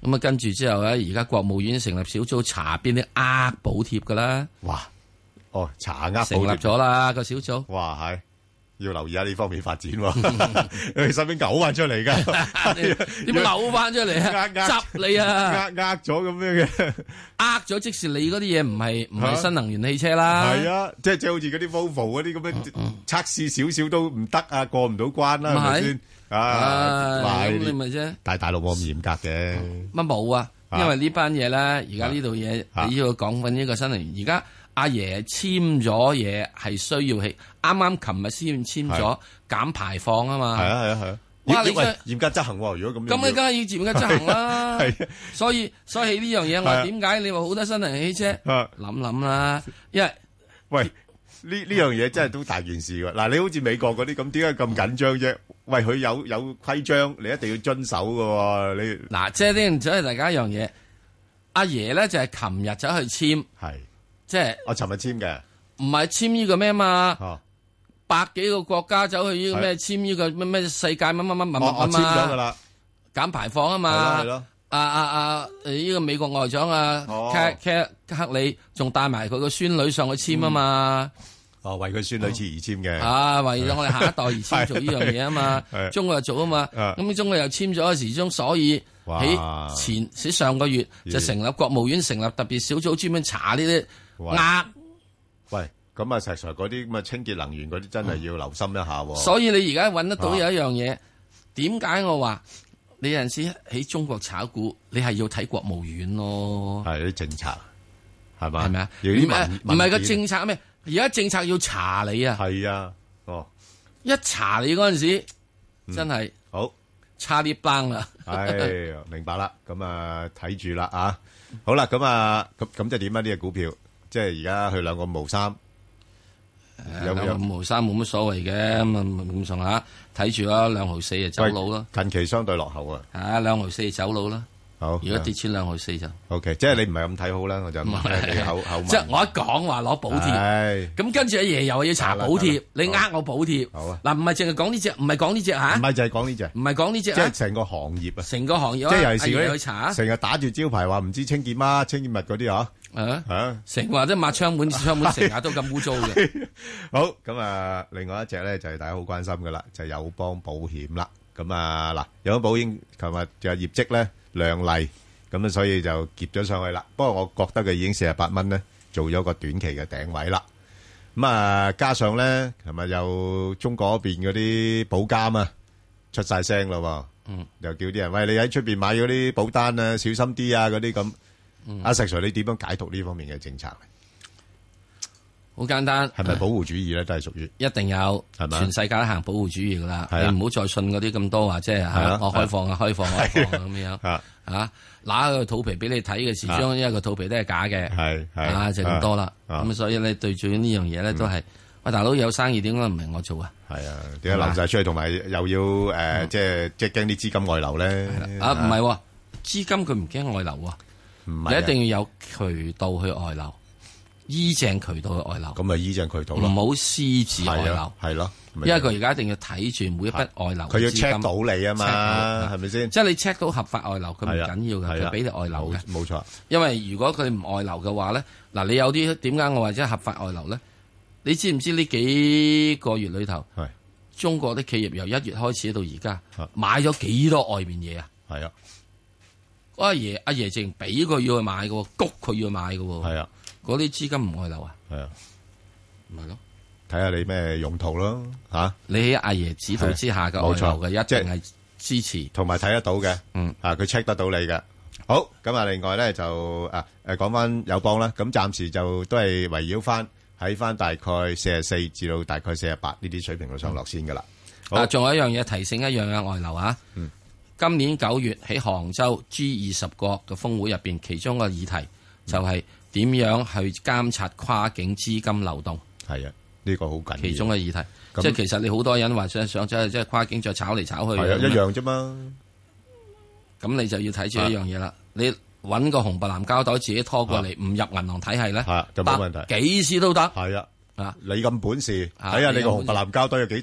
咁啊，跟住之後咧，而家國務院成立小組查邊啲補貼噶啦。 哇！哦，查補貼成立咗啦個小組。 哇，係要留意下呢方面發展喎。你身邊嘔翻出嚟㗎， 點嘔翻出嚟啊？執你啊！ 呃咗咁樣嘅， 呃咗即是你嗰啲嘢唔係新能源汽車啦。 係啊，即係好似嗰啲 Volvo 嗰啲咁樣測試少少都唔得啊，過唔到關啦，係咪先？ 咁你咪啫。 但係大陸冇咁嚴格嘅。 乜冇啊？因為呢班嘢咧，而家呢度嘢你要講緊呢個新能源。而家阿爺簽咗嘢係需要啱啱琴日先簽咗減排放啊嘛。係啊。哇！你嚴格執行喎，如果咁樣。 咁你梗係要嚴格執行啦。係。所以呢樣嘢我點解你話好多新能源汽車？諗啦，因為喂。呢樣嘢真係都大件事㗎。嗱，你好似美國嗰啲咁，點解咁緊張啫？喂，佢有規章，你一定要遵守㗎喎。你嗱，即係呢，就係大家一樣嘢。阿爺咧就係琴日走去簽， 係即係我尋日簽嘅， 唔係簽呢個咩嘛？百幾個國家走去呢個咩簽呢個咩世界乜簽咗㗎啦， 減排放啊嘛。 係咯。 呢個美國外長克里仲帶埋佢個孫女上去簽啊嘛。 為佢孫女而簽嘅。 為咗我哋下一代而簽做呢樣嘢啊嘛。中國又做啊嘛。咁中國又簽咗嘅時鐘，所以喺上個月就成立國務院成立特別小組專門查呢啲喂，咁石 Sir 嗰啲咁嘅清潔能源嗰啲真係要留心一下。 所以你而家揾得到有一樣嘢，點解我話你有陣時喺中國炒股，你係要睇國務院咯。 係啲政策係嘛？係咪啊？ 唔係個政策咩？而家政策要查你啊！ 係啊， 一查你嗰陣時，真係好差啲崩啦。 係明白啦，咁啊睇住啦啊！好啦，咁啊咁即係點啊？呢隻股票即係而家去2個5毫3， 有5毫3冇乜所謂嘅，咁上下睇住啦，2毫4就走佬啦。 近期相對落後啊 ，2毫4走佬啦。好，如果跌穿2毫4就 OK， 即係你唔係咁睇好啦，我就唔係你口即係我一講話攞補貼，咁跟住阿爺又要查補貼，你我補貼。好啊，嗱唔係淨係講呢隻，唔係講呢隻吓， 唔係就係講呢隻， 唔係講呢隻， 即係成個行業啊， 成個行業即係尤其是去查， 成日打住招牌話唔知清潔乜清潔物嗰啲嗬， 成日話都抹窗門成日都咁污糟嘅。 好，咁啊，另外一隻咧就係大家好關心噶啦，就係友邦保險啦。咁啊嗱，友邦保險琴日嘅業績咧亮麗。咁所以就夾咗上去啦。不過我覺得佢已經48蚊咧，做咗個短期嘅頂位啦。加上咧，係咪又中國嗰邊嗰啲保監啊出晒聲咯？又叫啲人喂，你喺出邊買嗰啲保單啊，小心啲啊嗰啲咁。阿石 Sir，你點樣解讀呢方面嘅政策？ 好簡單， 係咪保護主義咧？都係屬於一定有，係咪？全世界都行保護主義噶啦，你唔好再信嗰啲咁多話，即係我開放咁樣拿個肚皮俾你睇嘅時鐘，因為個肚皮都係假嘅，就咁多啦。咁所以咧，對住呢樣嘢咧，都係喂大佬有生意，點解唔係我做啊？係啊， 點解流晒出去，同埋又要即係驚啲資金外流咧？ 唔係資金佢唔驚外流啊，你一定要有渠道去外流。依正渠道嘅外流， 咁咪依正渠道咯， 唔好私自外流， 係咯， 因為佢而家一定要睇住每一筆外流， 佢要 check 到你啊嘛，係咪先？ 即係你 check 到合法外流，佢唔緊要嘅，佢俾你外流嘅， 冇錯。 因為如果佢唔外流嘅話咧，嗱，你有啲點解我話即係合法外流咧？你知唔知呢幾個月裏頭，中國啲企業由1月開始到而家買咗幾多外面嘢啊？ 係啊， 阿爺淨俾佢要去買嘅，谷佢要去買嘅， 係啊。 嗰啲資金唔外流啊？ 係啊， 唔係咯， 睇下你咩用途咯嚇。 你喺阿爺指導之下嘅外流嘅，一定係支持， 同埋睇得到嘅。佢 check 得到你嘅。好，咁啊，另外咧就講翻友邦啦。咁暫時就都係圍繞翻喺翻大概44至到大概48呢啲水平度上落先噶啦。 仲有一樣嘢提醒一樣嘅外流啊。今年9月喺杭州 G20 國嘅峰會入邊，其中個議題就係點樣去監察跨境資金流動？ 係啊，呢個好緊要。其中嘅議題，即係其實你好多人話想即係跨境再炒嚟炒去， 係啊，一樣啫嘛。 咁你就要睇住一樣嘢啦。你揾個紅白藍膠袋自己拖過嚟，唔入銀行體系咧， 就冇問題， 幾時都得。 係啊，你咁本事，睇下你個紅白藍膠袋有幾大。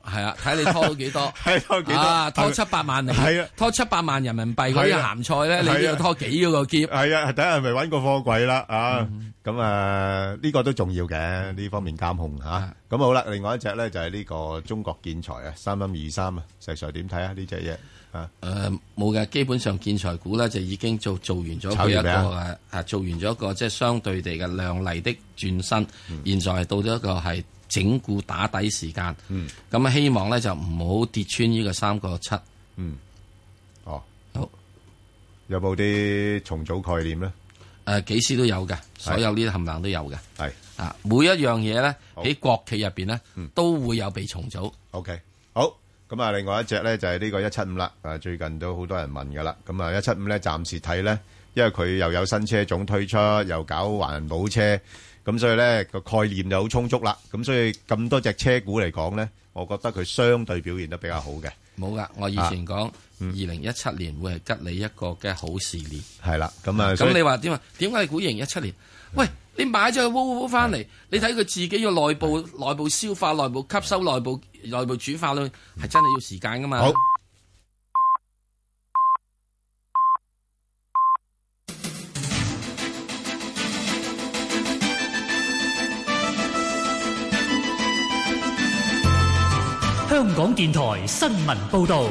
係啊，睇你拖到幾多， 拖幾多拖700萬嚟，係啊，拖700萬人民幣嗰啲鹹菜咧，你都要拖幾個篋。 係啊，睇下係咪搵個貨櫃啦啊！咁呢個都重要嘅，呢方面監控吓。咁好啦，另外一隻咧就係呢個中國建材啊，3323啊，石 Sir 點睇啊？呢隻嘢冇嘅，基本上建材股咧就已經做完咗佢一個做完咗一個即係相對地嘅亮麗的轉身，現在係到咗一個係整固打底時間。咁希望咧就唔好跌穿呢個3.7。 好，有冇啲重組概念咧？ 幾時都有嘅，所有呢啲冚唪唥都有嘅。係每一樣嘢咧喺國企入邊咧都會有被重組。 OK， 好。咁啊，另外一隻咧就係呢個175啦，最近都好多人問噶啦。咁啊，175咧暫時睇咧，因為佢又有新車種推出，又搞環保車，咁所以咧個概念就好充足啦。咁所以咁多隻車股嚟講咧，我覺得佢相對表現得比較好嘅。 冇噶，我以前講2017年會係吉你一個嘅好事年。 係啦，咁啊， 咁你話點啊？點解係估2017年？喂，你買咗個烏翻嚟，你睇佢自己要內部消化、內部吸收、內部煮化咯，係真係要時間噶嘛。好， 香港電台新聞報道。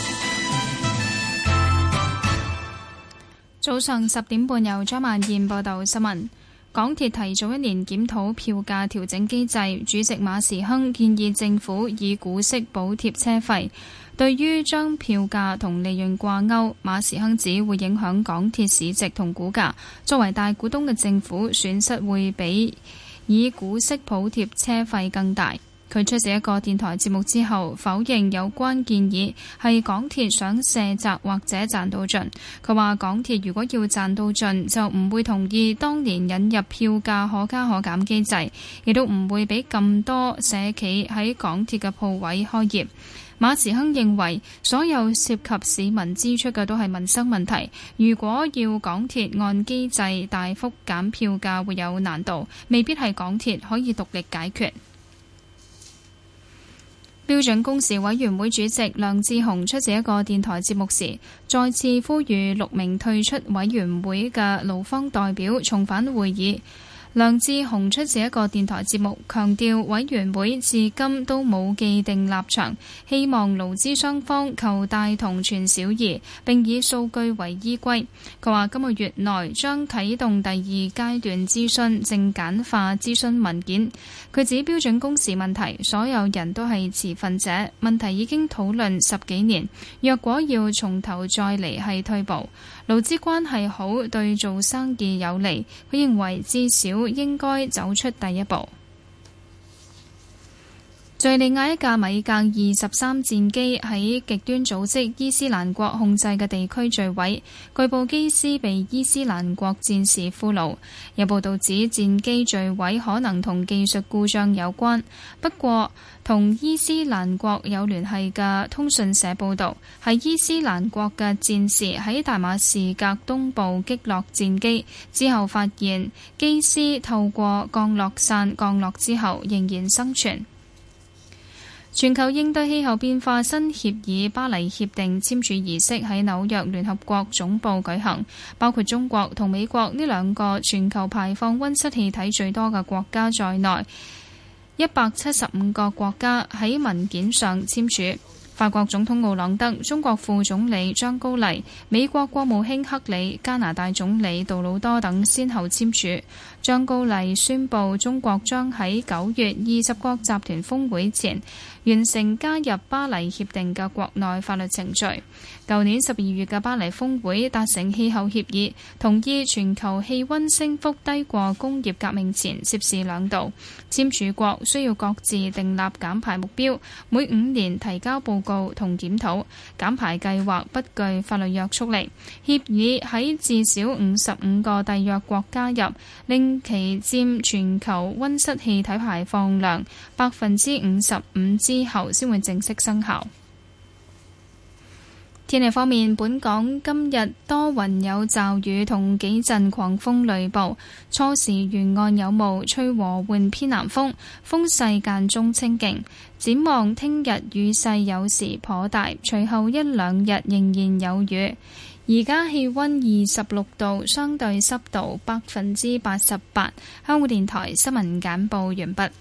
早上10點半，由張曼燕報道新聞。港鐵提早1年檢討票價調整機制，主席馬時亨建議政府以股息補貼車費。對於將票價同利潤掛鈎，馬時亨指會影響港鐵市值同股價。作為大股東嘅政府，損失會比以股息補貼車費更大。佢出席一個電台節目之後，否認有關建議係港鐵想卸責或者賺到盡。佢話港鐵如果要賺到盡，就唔會同意當年引入票價可加可減機制，亦都唔會俾咁多社企喺港鐵嘅鋪位開業。馬時亨認為所有涉及市民支出嘅都係民生問題，如果要港鐵按機制大幅減票價會有難度，未必係港鐵可以獨力解決。標準工時委員會主席梁智鴻出席一個電台節目時，再次呼籲6名退出委員會嘅勞方代表重返會議。梁智鴻出席一個電台節目，強調委員會至今都冇既定立場，希望勞資雙方求大同存小異，並以數據為依歸。佢話今個月內將啟動第2階段諮詢，正簡化諮詢文件。佢指標準工時問題，所有人都係持份者，問題已經討論10幾年，若果要從頭再嚟係退步。勞資關係好，對做生意有利。佢認為至少應該走出第一步。敘利亞一架米格23戰機喺極端組織伊斯蘭國控制嘅地區墜毀，據報機師被伊斯蘭國戰士俘虜。有報道指戰機墜毀可能同技術故障有關，不過同伊斯蘭國有聯繫嘅通訊社報導，係伊斯蘭國嘅戰士喺大馬士革東部擊落戰機之後，發現機師透過降落傘降落之後仍然生存。全球應對氣候變化新協議巴黎協定簽署儀式喺紐約聯合國總部舉行，包括中國同美國呢2個全球排放溫室氣體最多嘅國家在內，175個國家喺文件上簽署。法國總統奧朗德、中國副總理張高麗、美國國務卿克里、加拿大總理杜魯多等先後簽署。張高麗宣布中國將喺9月20國集團峰會前完成加入巴黎協定嘅國內法律程序。舊年12月嘅巴黎峰會達成氣候協議，同意全球氣溫升幅低過工業革命前攝氏2度。簽署國需要各自訂立減排目標，每5年提交報告同檢討。減排計劃不具法律約束力。協議喺至少55個締約國加入，令其佔全球溫室氣體排放量55%之後先會正式生效。 天氣方面，本港今日多雲有驟雨同幾陣狂風雷暴，初時沿岸有霧，吹和緩偏南風，風勢間中清勁。展望聽日雨勢有時頗大，隨後一兩日仍然有雨。而家氣溫26度，相對濕度88%。香港電台新聞簡報完畢。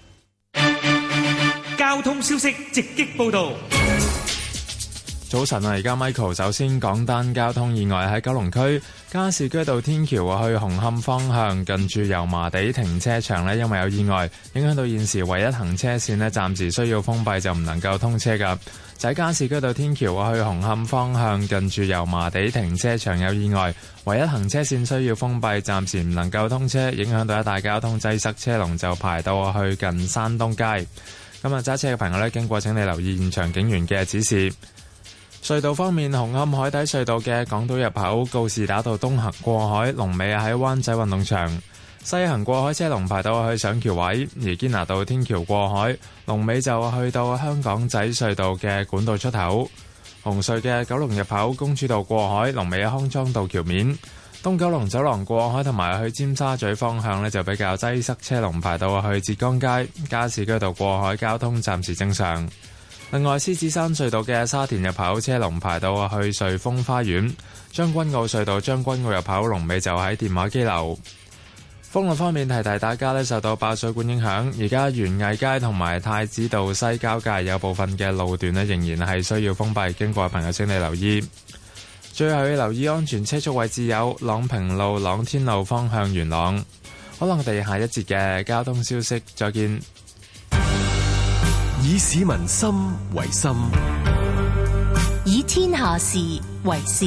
交通消息直擊報道。 早晨啊，而家 Michael 首先講單交通意外喺九龍區加士居道天橋去紅磡方向，近住油麻地停車場呢，因為有意外，影響到現時唯一行車線呢，暫時需要封閉，就唔能夠通車㗎。就喺加士居道天橋去紅磡方向，近住油麻地停車場有意外，唯一行車線需要封閉，暫時唔能夠通車，影響到一帶交通擠塞，車龍就排到去近山東街。咁啊，揸車嘅朋友呢，經過請你留意現場警員嘅指示。隧道方面，紅磡海底隧道嘅港島入口告士打道東行過海，龍尾喺灣仔運動場；西行過海車龍排到去上橋位，而堅拿道天橋過海，龍尾就去到香港仔隧道嘅管道出口。紅隧嘅九龍入口公主道過海，龍尾喺康莊道橋面；東九龍走廊過海同埋去尖沙咀方向呢，就比較擠塞，車龍排到去浙江街。加士居道過海交通暫時正常。另外，獅子山隧道嘅沙田入口車龍排到去瑞豐花園，將軍澳隧道將軍澳入口龍尾就喺電話機樓。封路方面，提提大家呢，受到爆水管影響，而家園藝街同埋太子道西交界有部分嘅路段呢，仍然係需要封閉，經過嘅朋友請你留意。最後要留意安全車速位置有朗平路、朗天路方向元朗。好啦，我哋下一節嘅交通消息再見。 以市民心為心， 以天下事為事。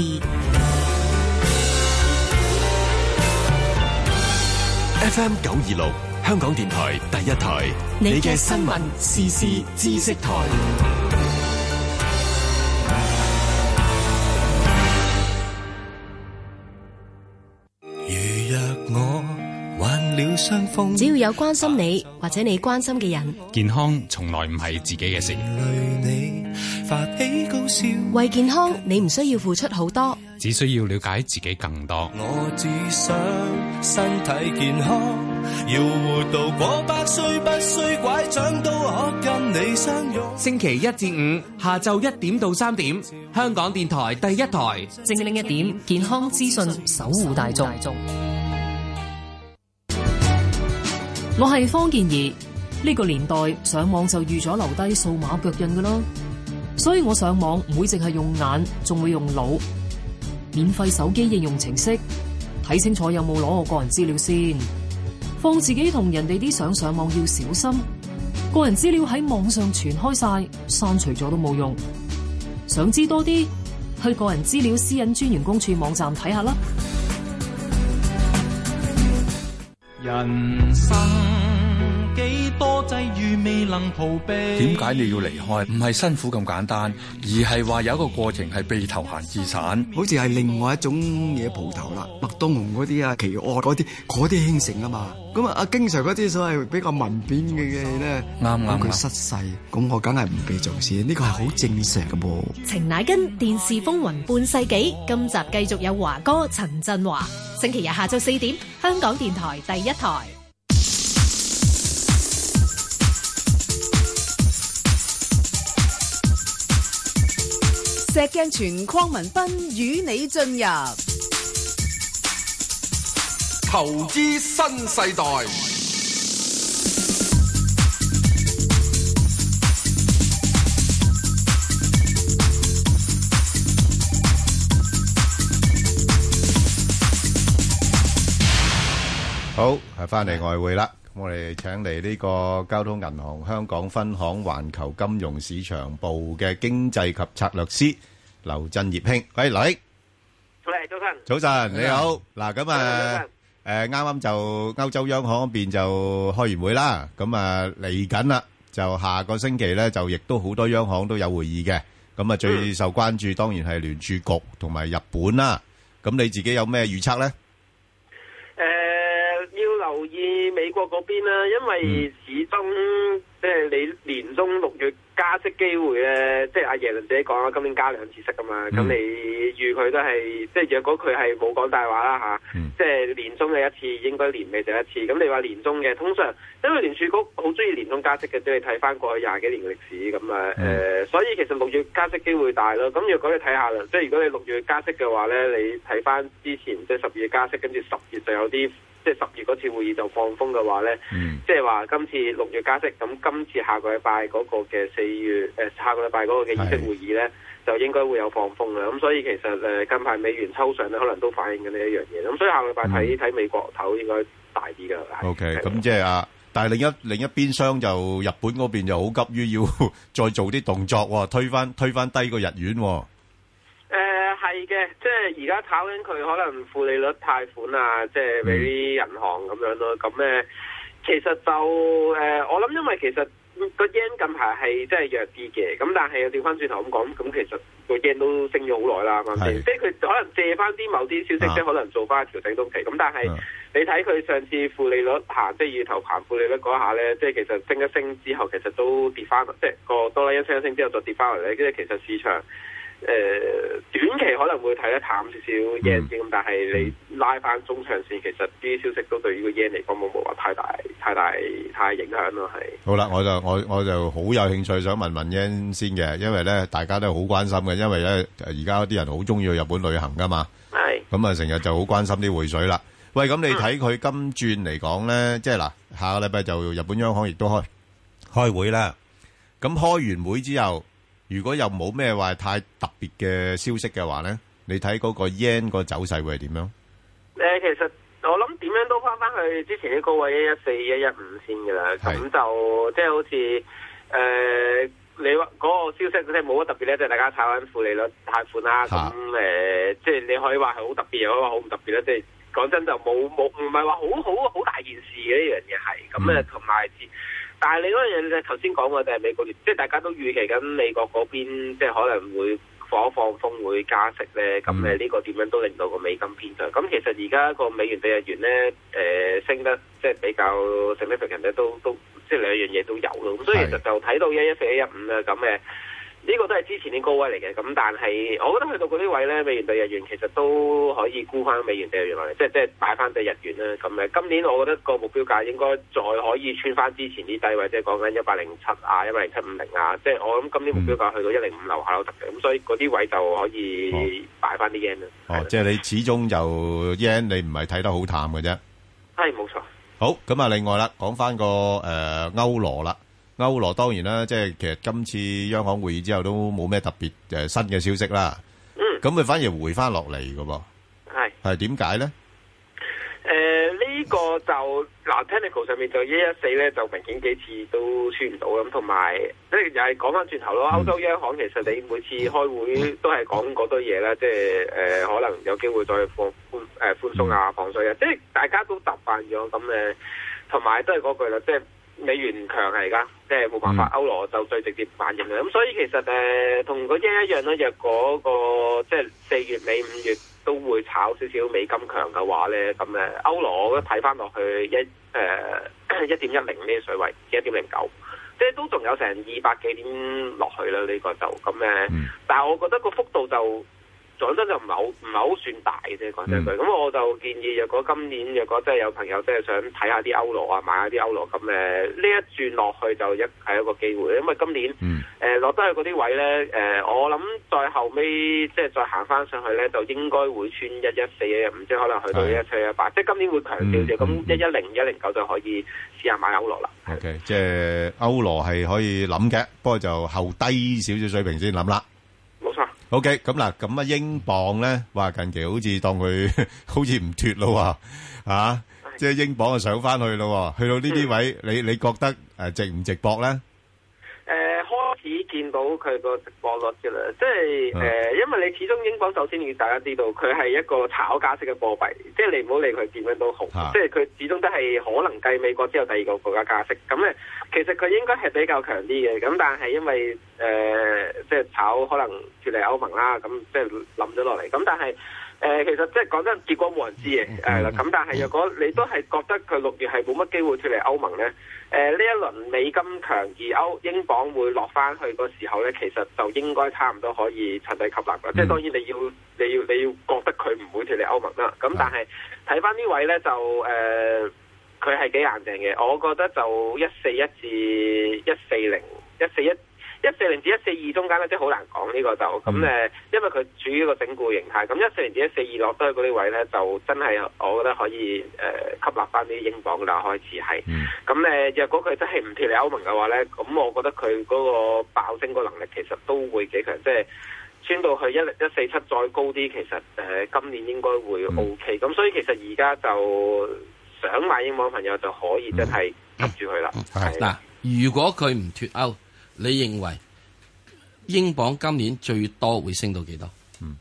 FM 926，香港電台第一台，你嘅新聞時事知識台。 只要有關心你或者你關心嘅人， 健康從來唔係自己嘅事。 為健康，你唔需要付出好多， 只需要了解自己更多。 我只想身體健康，要活到過百歲，不需拐杖都可跟你相擁。 星期1至5下晝1點到3點，香港電台第一台， 精靈一點健康資訊，守護大眾。我係方健儀，呢個年代上網就預咗留低數碼腳印㗎啦，所以我上網唔會淨係用眼，仲會用腦。免費手機應用程式，睇清楚有冇攞我個人資料先。放自己同人哋啲相上網要小心，個人資料喺網上傳開晒，刪除咗都冇用。想知多啲，去個人資料私隱專員公署網站睇下啦。 人生幾多際遇未能逃避？ 點解你要離開？唔係辛苦咁簡單，而係話有一個過程係被投閒置散， 好似係另外一種嘢蒲頭啦。麥當雄嗰啲啊，奇惡嗰啲興盛啊嘛。咁啊，經常嗰啲所謂比較文變嘅嘢咧，啱佢失勢，咁我梗係唔被重視，呢個係好正常嘅噃。 程乃根電視風雲半世紀，今集繼續有華哥陳振華。星期日下晝4點，香港電台第一台。 石鏡泉鄺民彬與你進入投資新世代。 好，係翻嚟外匯啦。我哋請嚟呢個交通銀行香港分行環球金融市場部嘅經濟及策略師劉振業兄。喂，劉兄， 早晨。 早晨，你好。嗱，咁啊，啱啱就歐洲央行嗰邊就開完會啦。咁啊，嚟緊啦，就下個星期咧，就亦都好多央行都有會議嘅。咁啊，最受關注當然係聯儲局同埋日本啦。咁你自己有咩預測咧？ 要留意美國嗰邊啦，因為始終即係你年中6月加息機會咧，即係阿耶倫自己講啦，今年加2次息噶嘛，咁你預佢都係即係若果佢係冇講大話啦嚇，即係年中嘅一次，應該年尾就一次。咁你話年中嘅，通常因為聯儲局好中意年中加息嘅，即係睇翻過去20幾年嘅歷史咁啊所以其實6月加息機會大咯。咁若果你睇下啦，即係如果你6月加息嘅話咧，你睇翻之前即係12月加息，跟住10月就有啲。即係10月嗰次會議就放風嘅話咧，即係話今次6月加息，咁今次下個禮拜嗰個嘅4月下個禮拜嗰個嘅議息會議咧，就應該會有放風啦。咁所以其實近排美元抽上咧，可能都反映緊呢一樣嘢。咁所以下個禮拜睇美國頭應該大啲㗎。 OK，咁即係但係另一邊廂就日本嗰邊就好急於要再做啲動作喎，推翻低個日元喎。 係嘅，即係而家炒緊佢可能負利率貸款啊，即係俾啲銀行咁樣咯。咁其實就我諗因為其實個 yen 近排係真係弱啲嘅，咁但係又調翻轉頭咁講，咁其實個 yen 都升咗好耐啦，啱先？即係佢可能借翻啲某啲消息，即係可能做翻調整都期。咁但係你睇佢上次負利率行，即係月頭行負利率嗰下咧，即係其實升一升之後，其實都跌翻，即係個多啦一升一升之後再跌翻嚟咧，跟住其實市場。短期可能會睇得淡少少 yen 先，咁但係你拉翻中長線，其實啲消息都對呢個 yen 嚟講冇話太影響咯，係。好啦， 我就好有興趣想問 yen 先嘅，因為咧大家都好關心嘅，因為咧而家啲人好中意去日本旅行噶嘛，係。咁啊成日就好關心啲匯水啦。喂，咁你睇佢今轉嚟講咧，即係嗱，下個禮拜就日本央行亦都開會啦。咁開完會之後。如果又冇咩話太特別嘅消息嘅話咧，你睇嗰個 yen 個走勢會係點樣？ 其實我諗點樣都翻去之前啲高位114、115先㗎啦。咁就即係好似你話嗰個消息即係冇乜特別咧，即係大家炒緊負利率貸款啦。咁即係你可以話係好特別，又可以話好唔特別咧。即係講真就冇唔係話好大件事嘅呢樣嘢係。咁同埋。但係你嗰樣嘢，你頭先講過就係美國，即係大家都預期緊美國嗰邊，即係可能會放風會加息咧。咁呢個點樣都令到個美金偏強。咁其實而家個美元對日元咧，升得即係比較 significant 咧，都即係兩樣嘢都有咯。咁所以其實就睇到114、115啦。咁呢個都係之前啲高位嚟嘅，咁但係我覺得去到嗰啲位咧，美元對日元其實都可以沽翻美元對日元落嚟，即係買翻對日元啦。咁今年我覺得個目標價應該再可以穿翻之前啲低位，即係講緊107啊、10750啊，即係我諗今年目標價去到105樓下都得嘅。咁所以嗰啲位就可以擺翻啲 yen 啦。 即係你始終就 yen 你唔係睇得好淡嘅啫。 係冇錯。好， 咁啊，另外啦，講翻個歐羅啦。歐羅當然啦，即係其實今次央行會議之後都冇咩特別新嘅消息啦。咁佢反而回翻落嚟嘅噃。係點解咧？ 呢個就technical 上面就114咧，就明顯幾次都穿唔到咁，同埋即係又係講翻轉頭咯。歐洲央行其實你每次開會都係講嗰堆嘢啦，即係可能有機會再寬鬆啊、放水啊，即係大家都習慣咗咁同埋都係嗰句啦，即係。美元強係而家，即係冇辦法，歐羅就最直接反應嘅。咁所以其實同嗰啲一樣咯，若果個即係4月尾5月都會炒少少美金強嘅話咧，咁歐羅我覺得睇翻落去1.10呢啲水位，1.09，即係都仲有成200幾點落去啦。呢個就咁但係我覺得個幅度就。講真就唔係好算大嘅啫，講真句。咁我就建議，若果今年若果真係有朋友真係想睇下啲歐羅啊，買下啲歐羅咁呢一轉落去就係一個機會。因為今年落得去嗰啲位咧，我諗再後尾即係再行翻上去咧，就應該會穿114、115，即係可能去到117、118。即係今年會強少少，咁110、109就可以試下買歐羅啦。 OK， 即係歐羅係可以諗嘅，不過就後低少少水平先諗啦。 冇錯。 OK， 咁嗱，咁啊，英鎊咧，話近期好似當佢好似唔脫咯喎，即係英鎊就上翻去咯喎，去到呢啲位，你覺得值唔值博咧？ 開始見到佢個直播率嘅啦，即係因為你始終英鎊首先要大家知道，佢係一個炒加息嘅貨幣，即係你唔好理佢點樣都好，即係佢始終都係可能繼美國之後第二個國家加息，咁咧其實佢應該係比較強啲嘅，咁但係因為即係炒可能脱離歐盟啦，咁即係冧咗落嚟，咁但係。其實即係講真，結果冇人知嘅，咁但係若果你都係覺得佢6月係冇乜機會脱離歐盟咧，呢一輪美金強而英鎊會落翻去個時候咧，其實就應該差唔多可以趁低吸納嘅，即係當然你要覺得佢唔會脱離歐盟啦，咁但係睇翻呢位咧就佢係幾硬淨嘅，我覺得就141至140至142中間咧，即係好難講呢個就咁因為佢處於一個整固形態，咁140至142落低嗰啲位咧，就真係我覺得可以吸納翻啲英鎊啦，開始係。咁若果佢真係唔脱離歐盟嘅話咧，咁我覺得佢嗰個爆升個能力其實都會幾強，即係穿到去147再高啲，其實今年應該會 OK。咁所以其實而家就想買英鎊朋友就可以真係吸住佢啦。 嗱，如果佢唔脱歐，你認為英鎊今年最多會升到幾多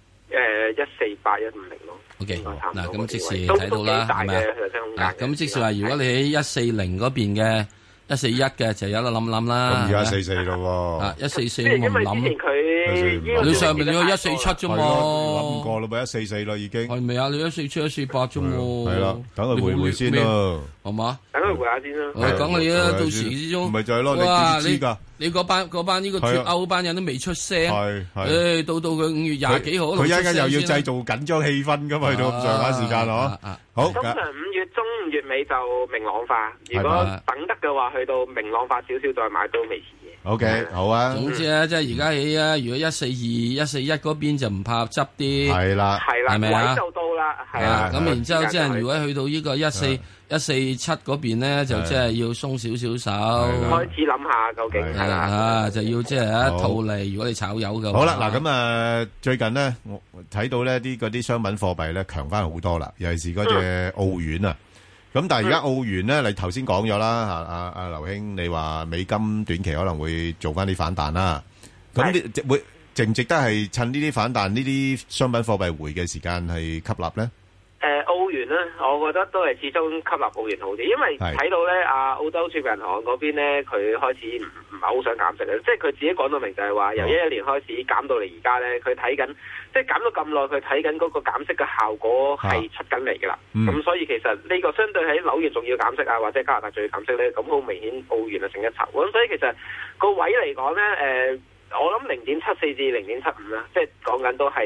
？148、150咯。 OK，嗱咁即時睇到啦，係咪啊？咁即時話，如果你喺140嗰邊嘅141嘅，就有得諗啦。 咁而家144咯喎。 144我唔諗。你上面你有147啫嘛？ 諗過啦，咪144啦已經。 係咪啊？你147、148啫喎。 係啦，等佢回回先咯。 好嘛？ 等佢回下先啦。 我講你啊，到時之中。 唔係就係咯，你知㗎。 你嗰班呢個脱歐班人都未出聲，到佢5月20幾號， 佢一陣又要製造緊張氣氛㗎嘛，去到咁上下時間咯。好， 通常5月中、5月尾就明朗化，如果等得嘅話，去到明朗化少少再買都未遲嘅。 OK，好啊。 總之啊，即係而家起啊，如果142、141嗰邊就唔怕執啲， 係啦， 係咪啊？ 位就到啦，係啊。咁然之後即係如果去到呢個147嗰邊咧，就即係要鬆少少手， 開始諗下究竟係啦，就要即係一套嚟。如果你炒油嘅話， 好啦，嗱咁最近呢，我睇到呢啲嗰啲商品貨幣咧強翻好多啦，尤其是嗰隻澳元啊。咁但係而家澳元咧，你頭先講咗啦，阿劉兄，你話美金短期可能會做翻啲反彈啦。咁會值唔值得係趁呢啲反彈、呢啲商品貨幣回嘅時間係吸納咧？ 澳元咧，我覺得都係始終吸納澳元好啲，因為睇到咧澳洲儲備銀行嗰邊咧，佢開始唔係好想減息嘅，即係佢自己講到明就係話由11年開始減到嚟而家咧，佢睇緊即係減咗咁耐，佢睇緊嗰個減息嘅效果係出緊嚟㗎啦。咁所以其實呢個相對喺紐元仲要減息啊，或者加拿大仲要減息咧，咁好明顯澳元係勝一籌。咁所以其實個位嚟講咧，我諗0.74至0.75啦，即係講緊都係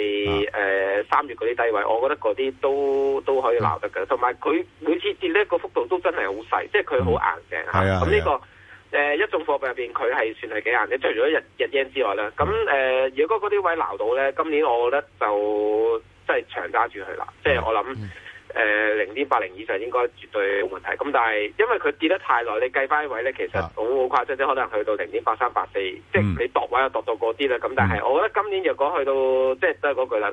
3月嗰啲低位，我覺得嗰啲都可以撈得嘅。同埋佢每次跌呢個幅度都真係好細，即係佢好硬淨嚇。咁呢個一眾貨幣入邊，佢係算係幾硬嘅，除咗日yen之外啦。咁如果嗰啲位撈到咧，今年我覺得就真係長揸住佢啦。即係我諗。0.80以上應該絕對冇問題，咁但係因為佢跌得太耐，你計翻位咧，其實好誇張，即係可能去到0.83、84，即係你度位又度到嗰啲啦。咁但係我覺得今年若果去到即係都係嗰句啦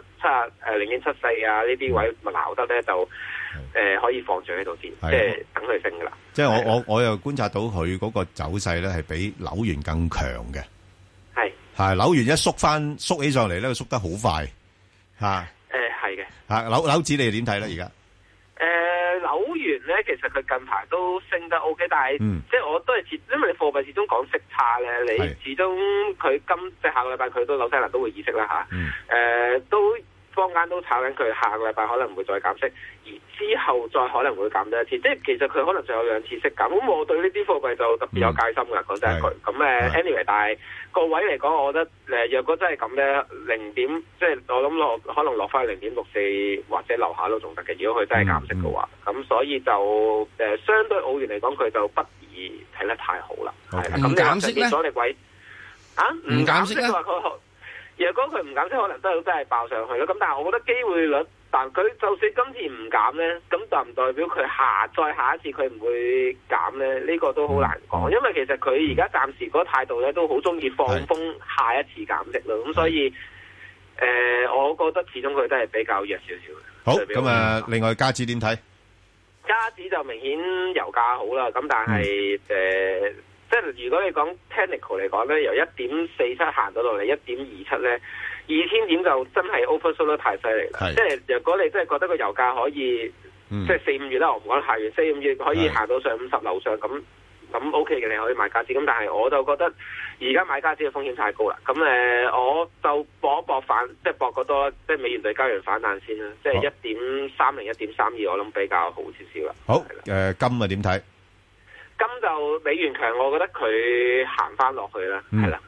，0.74啊呢啲位咪撈得咧，就可以放住喺度先，即係等佢升噶啦。 即係我又觀察到佢嗰個走勢咧係比紐元更強嘅，係紐元一縮起上嚟咧，佢縮得好快嚇。 係嘅嚇紐指你哋點睇咧而家？ 紐元咧，其實佢近排都升得 OK， 但係即係我都係因為你貨幣始終講息差咧，你始終佢即係下個禮拜佢都紐西蘭都會議息啦嚇，都坊間都炒緊佢下個禮拜可能會再減息，而之後再可能會減多一次，即係其實佢可能仲有2次息減，咁我對呢啲貨幣就特別有戒心㗎，講真一句。咁anyway， 但係個位嚟講，我覺得若果真係咁咧，0點即係我諗可能落翻0.64或者樓下都仲得嘅。如果佢真係減息嘅話，咁所以就相對澳元嚟講，佢就不宜睇得太好啦。 唔減息咧？ 阻力位唔減息咧？若果佢唔減息，可能都真係爆上去咯。咁但係我覺得機會率，但佢就算今次唔減咧，咁就唔代表佢再下一次佢唔會減咧。呢個都好難講，因為其實佢而家暫時嗰個態度咧都好中意放風下一次減息咯。咁所以我覺得始終佢都係比較弱少少嘅。 好，咁另外加指點睇？ 加指就明顯油價好啦，咁但係即係如果你講 technical 嚟講咧，由1.47行到落嚟1.27咧，2000點就真係 oversold 得太犀利啦。即係如果你真係覺得個油價可以，即係4、5月啦，我唔講太遠，4、5月可以行到上50樓上咁 OK 嘅，你可以買加紙。咁但係我就覺得而家買加紙嘅風險太高啦。咁我就搏一搏反，即係搏個多，即係美元對加元反彈先啦。即係1.30、1.32，我諗比較好少少啦。 好，金啊點睇？ 金就美元強，我覺得佢行翻落去啦，係啦，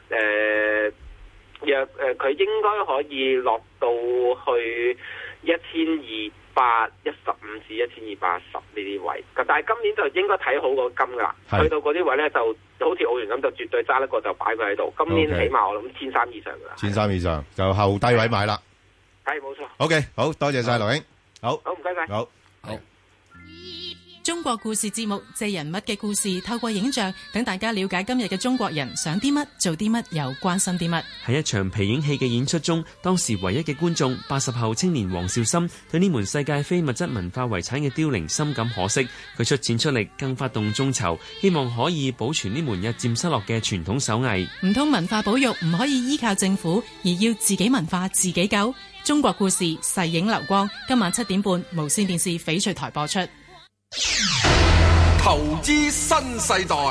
佢應該可以落到去1215至1210呢啲位，但係今年就應該睇好個金噶啦，去到嗰啲位咧就好似澳元咁，就絕對揸得過就擺佢喺度。今年起碼我諗1300以上噶啦 ，1300以上就後低位買啦。 係冇錯。 OK， 好多謝晒劉兄，好唔該晒， 好。 中國故事節目借人物嘅故事，透過影像等大家了解今日嘅中國人想啲乜、做啲乜，又關心啲乜。 喺一場皮影戲嘅演出中，當時唯一嘅觀眾80後青年黃少森對呢門世界非物質文化遺產嘅凋零深感可惜，佢出錢出力，更發動眾籌，希望可以保存呢門日漸失落嘅傳統手藝。 唔通文化保育唔可以依靠政府，而要自己文化自己救？中國故事細影流光，今晚7點半無線電視翡翠台播出。 投資新世代。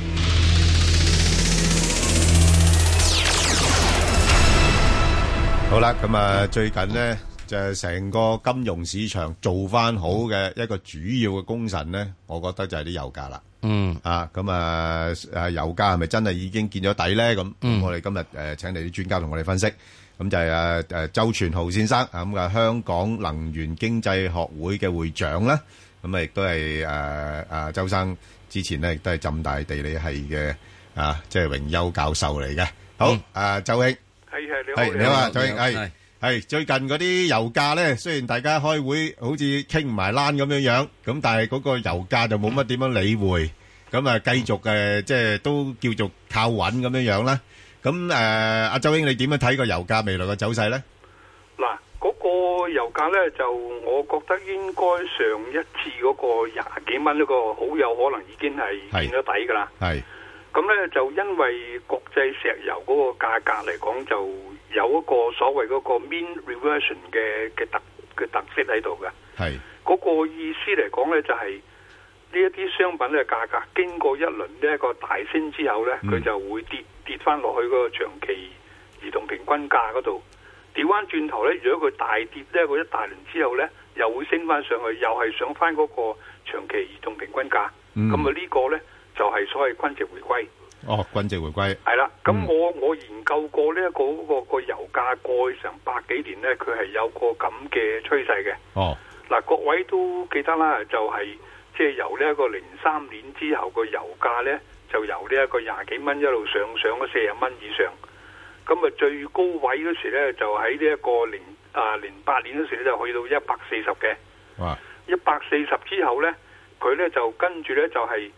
好啦，咁啊，最近呢就係成個金融市場做翻好嘅一個主要嘅功臣呢，我覺得就係啲油價啦。咁油價係咪真係已經見咗底咧？咁我哋今日請嚟啲專家同我哋分析。咁就係周全豪先生咁嘅香港能源經濟學會嘅會長啦。咁亦都係周生之前咧，亦都係浸大地理系嘅即係榮休教授嚟嘅。好，周兄，係你好啊，周兄，係最近嗰啲油價咧，雖然大家開會好似傾唔埋欄咁樣，咁但係嗰個油價就冇乜點樣理會，咁繼續即係都叫做靠穩咁樣啦。咁阿周兄，你點樣睇個油價未來嘅走勢咧？ 嗱。嗰個油價咧，就我覺得應該上一次嗰個20幾蚊嗰個好有可能已經係見咗底㗎啦。係咁咧，就因為國際石油嗰個價格嚟講，就有一個所謂嗰個 mean reversion 嘅特色喺度嘅。係嗰個意思嚟講咧，就係呢一啲商品嘅價格經過一輪呢一個大升之後咧，佢就會跌翻落去嗰個長期移動平均價嗰度。調翻轉頭咧，如果佢大跌咧，佢一大輪之後咧，又會升翻上去，又係上翻嗰個長期移動平均價。咁呢個咧就係所謂均值回歸。 哦，均值回歸。係啦， 咁我研究過呢一個油價過去成100幾年咧，佢係有個咁嘅趨勢嘅。哦，嗱，各位都記得啦，就係即係由呢一個03年之後個油價咧，就由呢一個20幾蚊一路上咗40蚊以上。咁最高位嗰時咧，就喺呢一個08年嗰時咧，就去到140嘅。哇！140之後咧，佢咧就跟住咧就係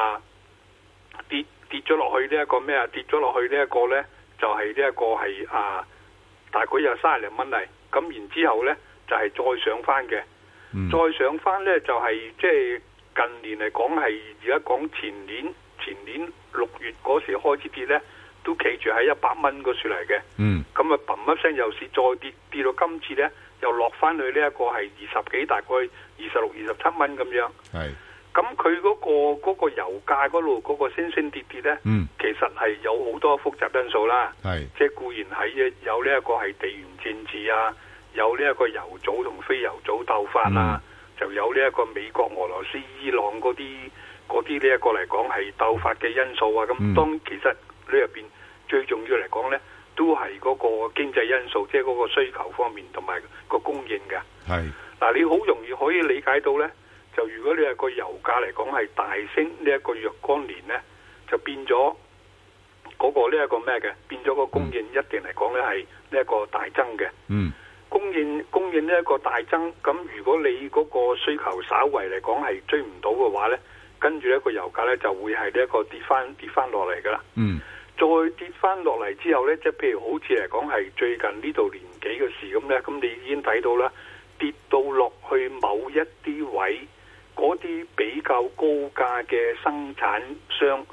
跌咗落去呢一個咩啊？跌咗落去呢一個咧，就係呢一個係大概有30零蚊嚟。咁然之後咧，就係再上翻嘅。再上翻咧，就係即係近年嚟講係而家講前年6月嗰時開始跌咧。都企住喺100蚊嗰處嚟嘅，咁啊砰一聲又是再跌到今次咧，又落翻去呢一個係20幾，大概26、27蚊咁樣。係，咁佢嗰個油價嗰度嗰個升跌咧，其實係有好多複雜因素啦。係，即係固然係有呢一個係地緣政治啊，有呢一個油組同非油組鬥法啊，就有呢一個美國、俄羅斯、伊朗嗰啲呢一個嚟講係鬥法嘅因素啊。咁當其實呢入邊最重要嚟講咧，都係嗰個經濟因素，即係嗰個需求方面同埋個供應嘅。係嗱，你好容易可以理解到咧，就如果你係個油價嚟講係大升呢一個若干年咧，就變咗嗰個呢一個咩嘅，變咗個供應一定嚟講咧係呢一個大增嘅。供應呢一個大增，咁如果你嗰個需求稍為嚟講係追唔到嘅話咧，跟住一個油價咧就會係呢一個跌翻落嚟噶啦。再跌翻落嚟之後呢，即係譬如好似嚟講係最近呢度年幾嘅事咁呢，咁你已經睇到啦，跌到落去某一啲位，嗰啲比較高價嘅生產商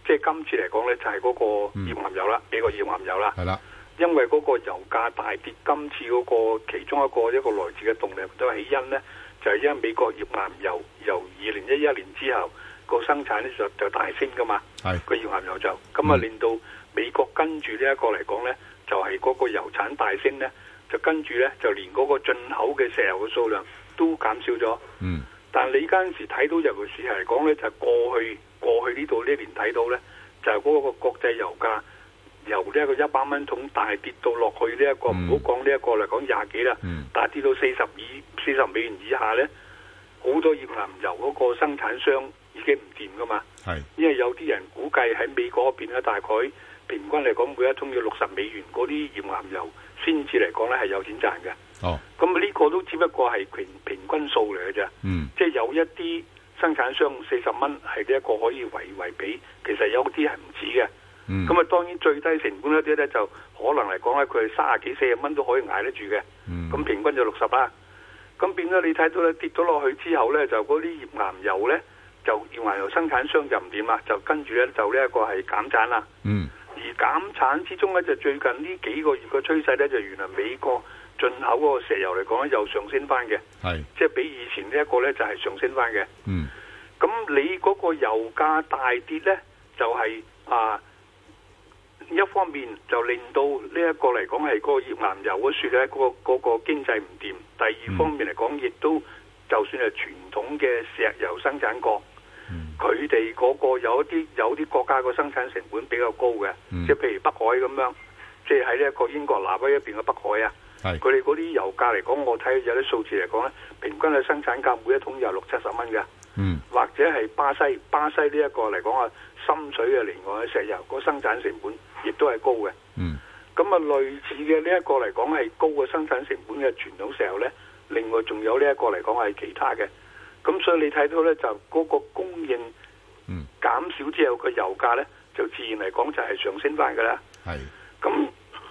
即係今次嚟講咧，就係嗰個頁岩油啦，美國頁岩油啦。 係啦， 因為嗰個油價大跌，今次嗰個其中一個來自嘅動力都係起因咧，就係因為美國頁岩油由2011年之後個生產咧就大升噶嘛。係個頁岩油就咁啊，令到美國跟住呢一個嚟講咧，就係嗰個油產大升咧，就跟住咧就連嗰個進口嘅石油嘅數量都減少咗。嗯。但係你嗰陣時睇到，尤其是係嚟講咧，就係過去呢度呢年睇到咧，就係嗰個國際油價由呢一個100蚊桶大跌到落去呢一個，唔好講呢一個嚟講20幾啦，大跌到40美元以下咧，好多頁岩油嗰個生產商已經唔掂噶嘛。係，因為有啲人估計喺美國嗰邊咧，大概平均嚟講每一桶要60美元嗰啲頁岩油先至嚟講咧係有錢賺嘅。哦，咁呢個都只不過係平均數嚟嘅啫。嗯，即係有一啲生產商40蚊係呢一個可以為比，其實有啲係唔止嘅。嗯，咁啊當然最低成本一啲咧就可能嚟講咧，佢係30幾40蚊都可以捱得住嘅。嗯，咁平均就60啦。咁變咗你睇到咧跌咗落去之後咧，就嗰啲頁岩油咧就頁岩油生產商就唔掂啦，就跟住咧就呢一個係減產啦。嗯，而減產之中咧就最近呢幾個月嘅趨勢咧就原來美國進口嗰個石油嚟講咧又上升翻嘅，係即係比以前呢一個咧就係上升翻嘅。嗯，咁你嗰個油價大跌咧，就係一方面就令到呢一個嚟講係嗰個頁岩油嗰樹咧嗰個經濟唔掂，第二方面嚟講亦都就算係傳統嘅石油生產國，佢哋嗰個有啲國家個生產成本比較高嘅，即係譬如北海咁樣，即係喺呢一個英國南威一邊嘅北海啊。佢哋嗰啲油價嚟講，我睇有啲數字嚟講咧，平均嘅生產價每一桶有60-70蚊嘅。嗯，或者係巴西呢一個嚟講啊，深水嘅另外嘅石油個生產成本亦都係高嘅。嗯，咁啊類似嘅呢一個嚟講係高嘅生產成本嘅傳統石油咧，另外仲有呢一個嚟講係其他嘅。咁所以你睇到咧就嗰個供應減少之後，個油價咧就自然嚟講就係上升翻㗎啦。係，咁。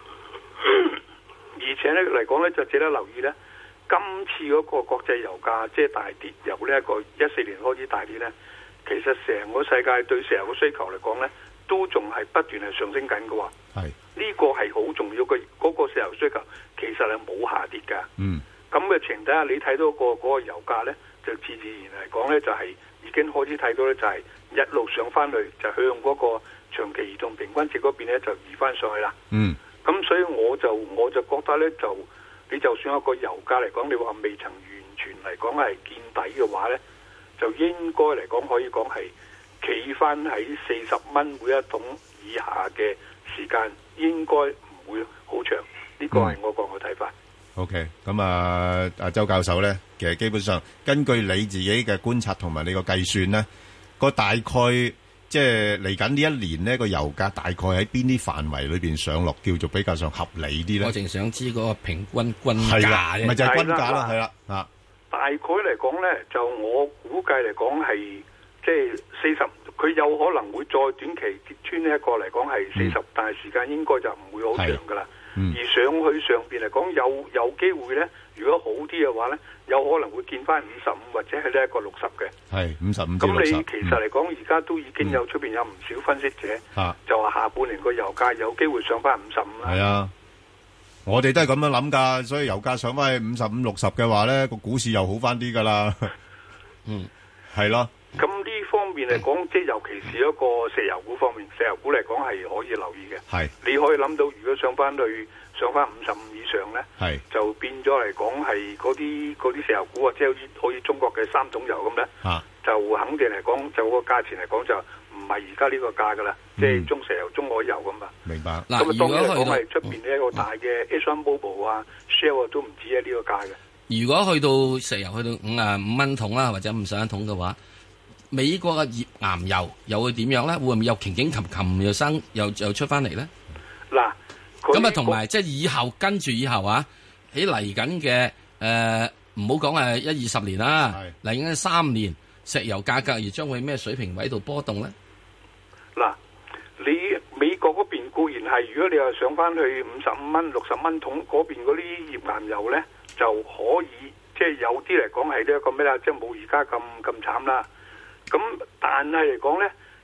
而且咧嚟講咧就值得留意咧，今次嗰個國際油價即係大跌，由呢一個14年開始大跌咧，其實成個世界對石油嘅需求嚟講咧，都仲係不斷係上升緊嘅喎。係，呢個係好重要嘅，嗰個石油需求其實係冇下跌㗎。嗯，咁嘅情況底下，你睇到嗰個油價咧，就自然嚟講咧就係已經開始睇到咧就係一路上翻去，就向嗰個長期移動平均值嗰邊咧就移翻上去啦。嗯。咁所以我就覺得咧，就你就算一個油價嚟講，你話未曾完全嚟講係見底嘅話咧，就應該嚟講可以講係企翻喺40蚊每一桶以下嘅時間，應該唔會好長。呢個係我個睇法。 OK， 咁阿周教授咧，其實基本上根據你自己嘅觀察同埋你個計算咧，個大概。即係嚟緊呢一年呢個油價大概喺邊啲範圍裏邊上落，叫做比較上合理啲咧？ 我淨想知嗰個平均均價啫， 咪就係均價啦，係啦啊！ 大概嚟講咧，就我估計嚟講係即係40，佢有可能會再短期跌穿呢一個嚟講係40，但係時間應該就唔會好長噶啦。而上去上邊嚟講有機會咧，如果好啲嘅話咧，有可能會見翻55或者係呢一個60嘅。係55至60。咁你其實嚟講，而家都已經有出邊有唔少分析者，就話下半年個油價有機會上翻55啦。係啊，我哋都係咁樣諗㗎，所以油價上翻去55、60嘅話咧，個股市又好翻啲㗎啦。嗯，係咯。咁呢方面嚟講，即係尤其是一個石油股方面，石油股嚟講係可以留意嘅。係，你可以諗到，如果上翻55以上咧，係就變咗嚟講係嗰啲石油股啊，即係好似中國嘅三桶油咁咧，就肯定嚟講就個價錢嚟講就唔係而家呢個價噶啦，即係中石油、中海油咁啊。明白。咁啊，當然嚟講係出邊呢一個大嘅 ExxonMobil 啊、Shell 都唔止喺呢個價嘅。如果去到石油去到55蚊桶啦，或者51桶嘅話，美國嘅頁岩油又會點樣咧？會唔會又擎擎琴又出翻嚟咧？嗱，咁啊，同埋即係以後跟住以後啊，喺嚟緊嘅唔好講係10-20年啦，嚟緊3年，石油價格而將會咩水平位度波動咧？嗱，你美國嗰邊固然係，如果你話上翻去55蚊、60蚊桶嗰邊嗰啲頁岩油咧，就可以即係有啲嚟講係呢一個咩啦，即係冇而家咁慘啦。咁但係嚟講咧，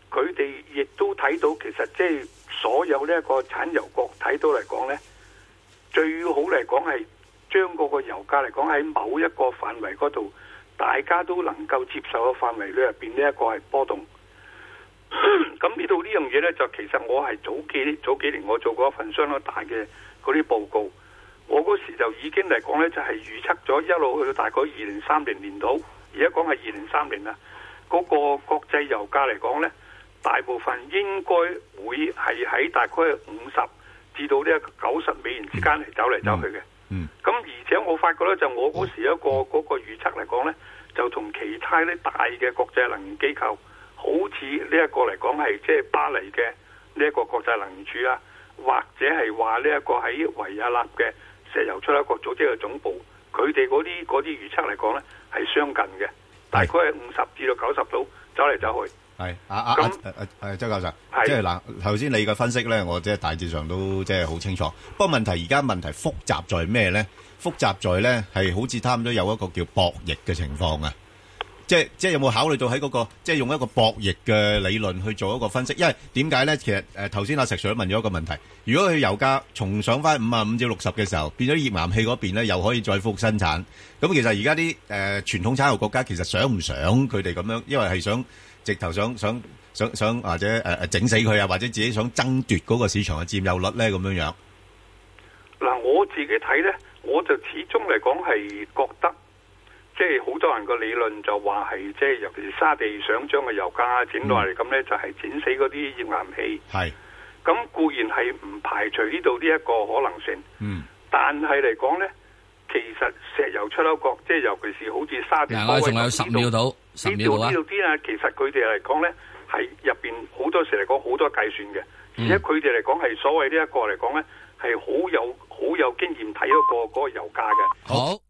佢哋亦都睇到，其實即係所有呢一個產油國睇到嚟講呢，最好嚟講係將嗰個油價嚟講喺某一個範圍嗰度，大家都能夠接受嘅範圍裏入邊呢一個係波動。咁呢度呢樣嘢呢，就其實我係早幾年我做過一份相當大嘅嗰啲報告，我嗰時就已經嚟講呢，就係預測咗一路去到大概2030年度，而家講係2030啦，嗰個國際油價嚟講呢，大部分應該會係喺大概50至到呢90美元之間嚟走嚟走去嘅。咁而且我發覺呢，就我嗰時一個嗰個預測嚟講呢，就同其他啲大嘅國際能源機構，好似呢一個嚟講係即係巴黎嘅呢一個國際能源署啊，或者係話呢一個喺維也納嘅石油出口國組織嘅總部，佢哋嗰啲預測嚟講呢係相近嘅，大概係50至到90度走嚟走去。 係周教授，即係嗱，頭先你嘅分析咧，我即係大致上都即係好清楚。不過而家問題複雜在咩咧？複雜在咧係好似差唔多有一個叫博弈嘅情況啊！即係有冇考慮到喺嗰個即係用一個博弈嘅理論去做一個分析？因為點解咧？其實頭先阿石 Sir 問咗一個問題，如果佢油價重上翻55至60嘅時候，變咗頁岩氣嗰邊咧又可以再復生產，咁其實而家啲傳統產油國家其實想唔想佢哋咁樣？因為係想直頭想或者整死佢啊，或者自己想爭奪嗰個市場嘅佔有率咧咁樣樣。 嗱，我自己睇咧，我就始終嚟講係覺得。即係好多人個理論就話係即係尤其是沙地想將個油價整落嚟咁呢，就係整死嗰啲頁岩氣。係咁固然係唔排除呢度呢一個可能性。但係嚟講呢，其實石油出口國即係尤其是好似沙地， 我仲有10秒到，10秒啊！ 呢度啲啊，其實佢哋嚟講呢，係入邊好多時嚟講好多計算嘅，而且佢哋嚟講係所謂呢一個嚟講呢，係好有經驗睇嗰個油價嘅。好。